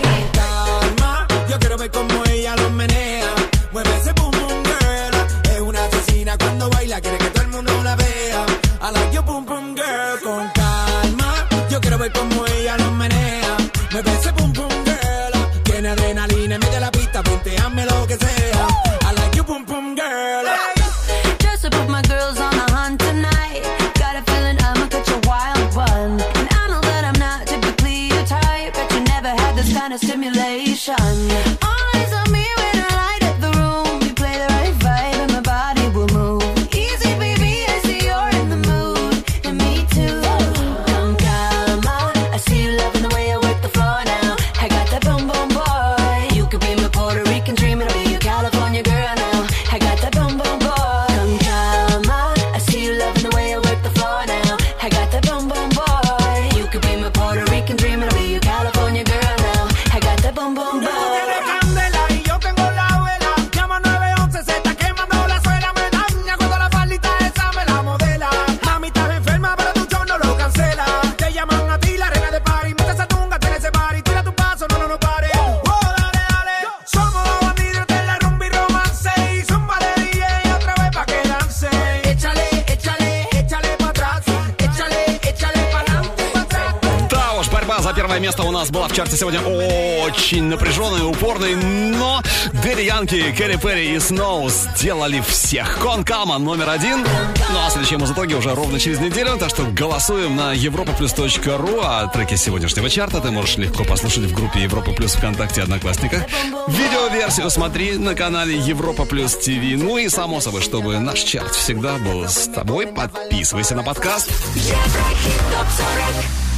Calma, yo quiero ver cómo ella lo menea. Mueve ese boom boom girl. Es una asesina cuando baila, quiere que todo el mundo la vea. I like your boom boom girl. Con calma, yo quiero ver cómo ella lo menea. Mueve ese pum pum girl. Tiene adrenalina, mete la pista, punteame lo que sea. I like you pum pum girl. Just to put my girls on the hunt tonight. Got a feeling I'ma catch a wild one. And I know that I'm not typically your type, but you never had this kind of stimulation. Eyes on me when I light up the room. You play the right vibe and my body will move. Easy baby, I see you're in the mood. And me too. Come calma, I see you loving the way I work the floor now. I got that boom boom boy. You could be my Puerto Rican dream and I'll be your California girl now. I got that boom boom boy. Come calma, I see you loving the way I work the floor now. I got that boom boom boy. You could be my Puerto Rican dream and I'll be your California girl now. I got that boom boom boy. Candela y yo tengo la vela. Llama nueve once, se está quemando la suela. Me daña cuando la faldita esa me la modela. Mami, estás enferma, pero tu show no lo cancela. Te llaman a ti, la reina de party. Mete esa tunga, ten ese party. Tira tu paso, no, no, no pare. Oh, dale, dale. Somos los bandidos de la rumba y romance. Y zumba de D J otra vez pa' que dance. Échale, échale, échale pa' atrás. Échale, échale pa' adelante, pa' atrás. Да уж, борьба за первое место у нас была в чарте сегодня очень напряженной, упорной, но Дэдди Янки, Кэрри Перри и Snow сделали всех. Кон Калма номер один. Ну а следующие музытоги уже ровно через неделю, так что голосуем на европа плюс точка ру, а треки сегодняшнего чарта ты можешь легко послушать в группе Европа Плюс ВКонтакте и Одноклассниках. Видеоверсию смотри на канале Европа Плюс ТВ. Ну и само собой, чтобы наш чарт всегда был с тобой, подписывайся на подкаст. Еврохит топ сорок.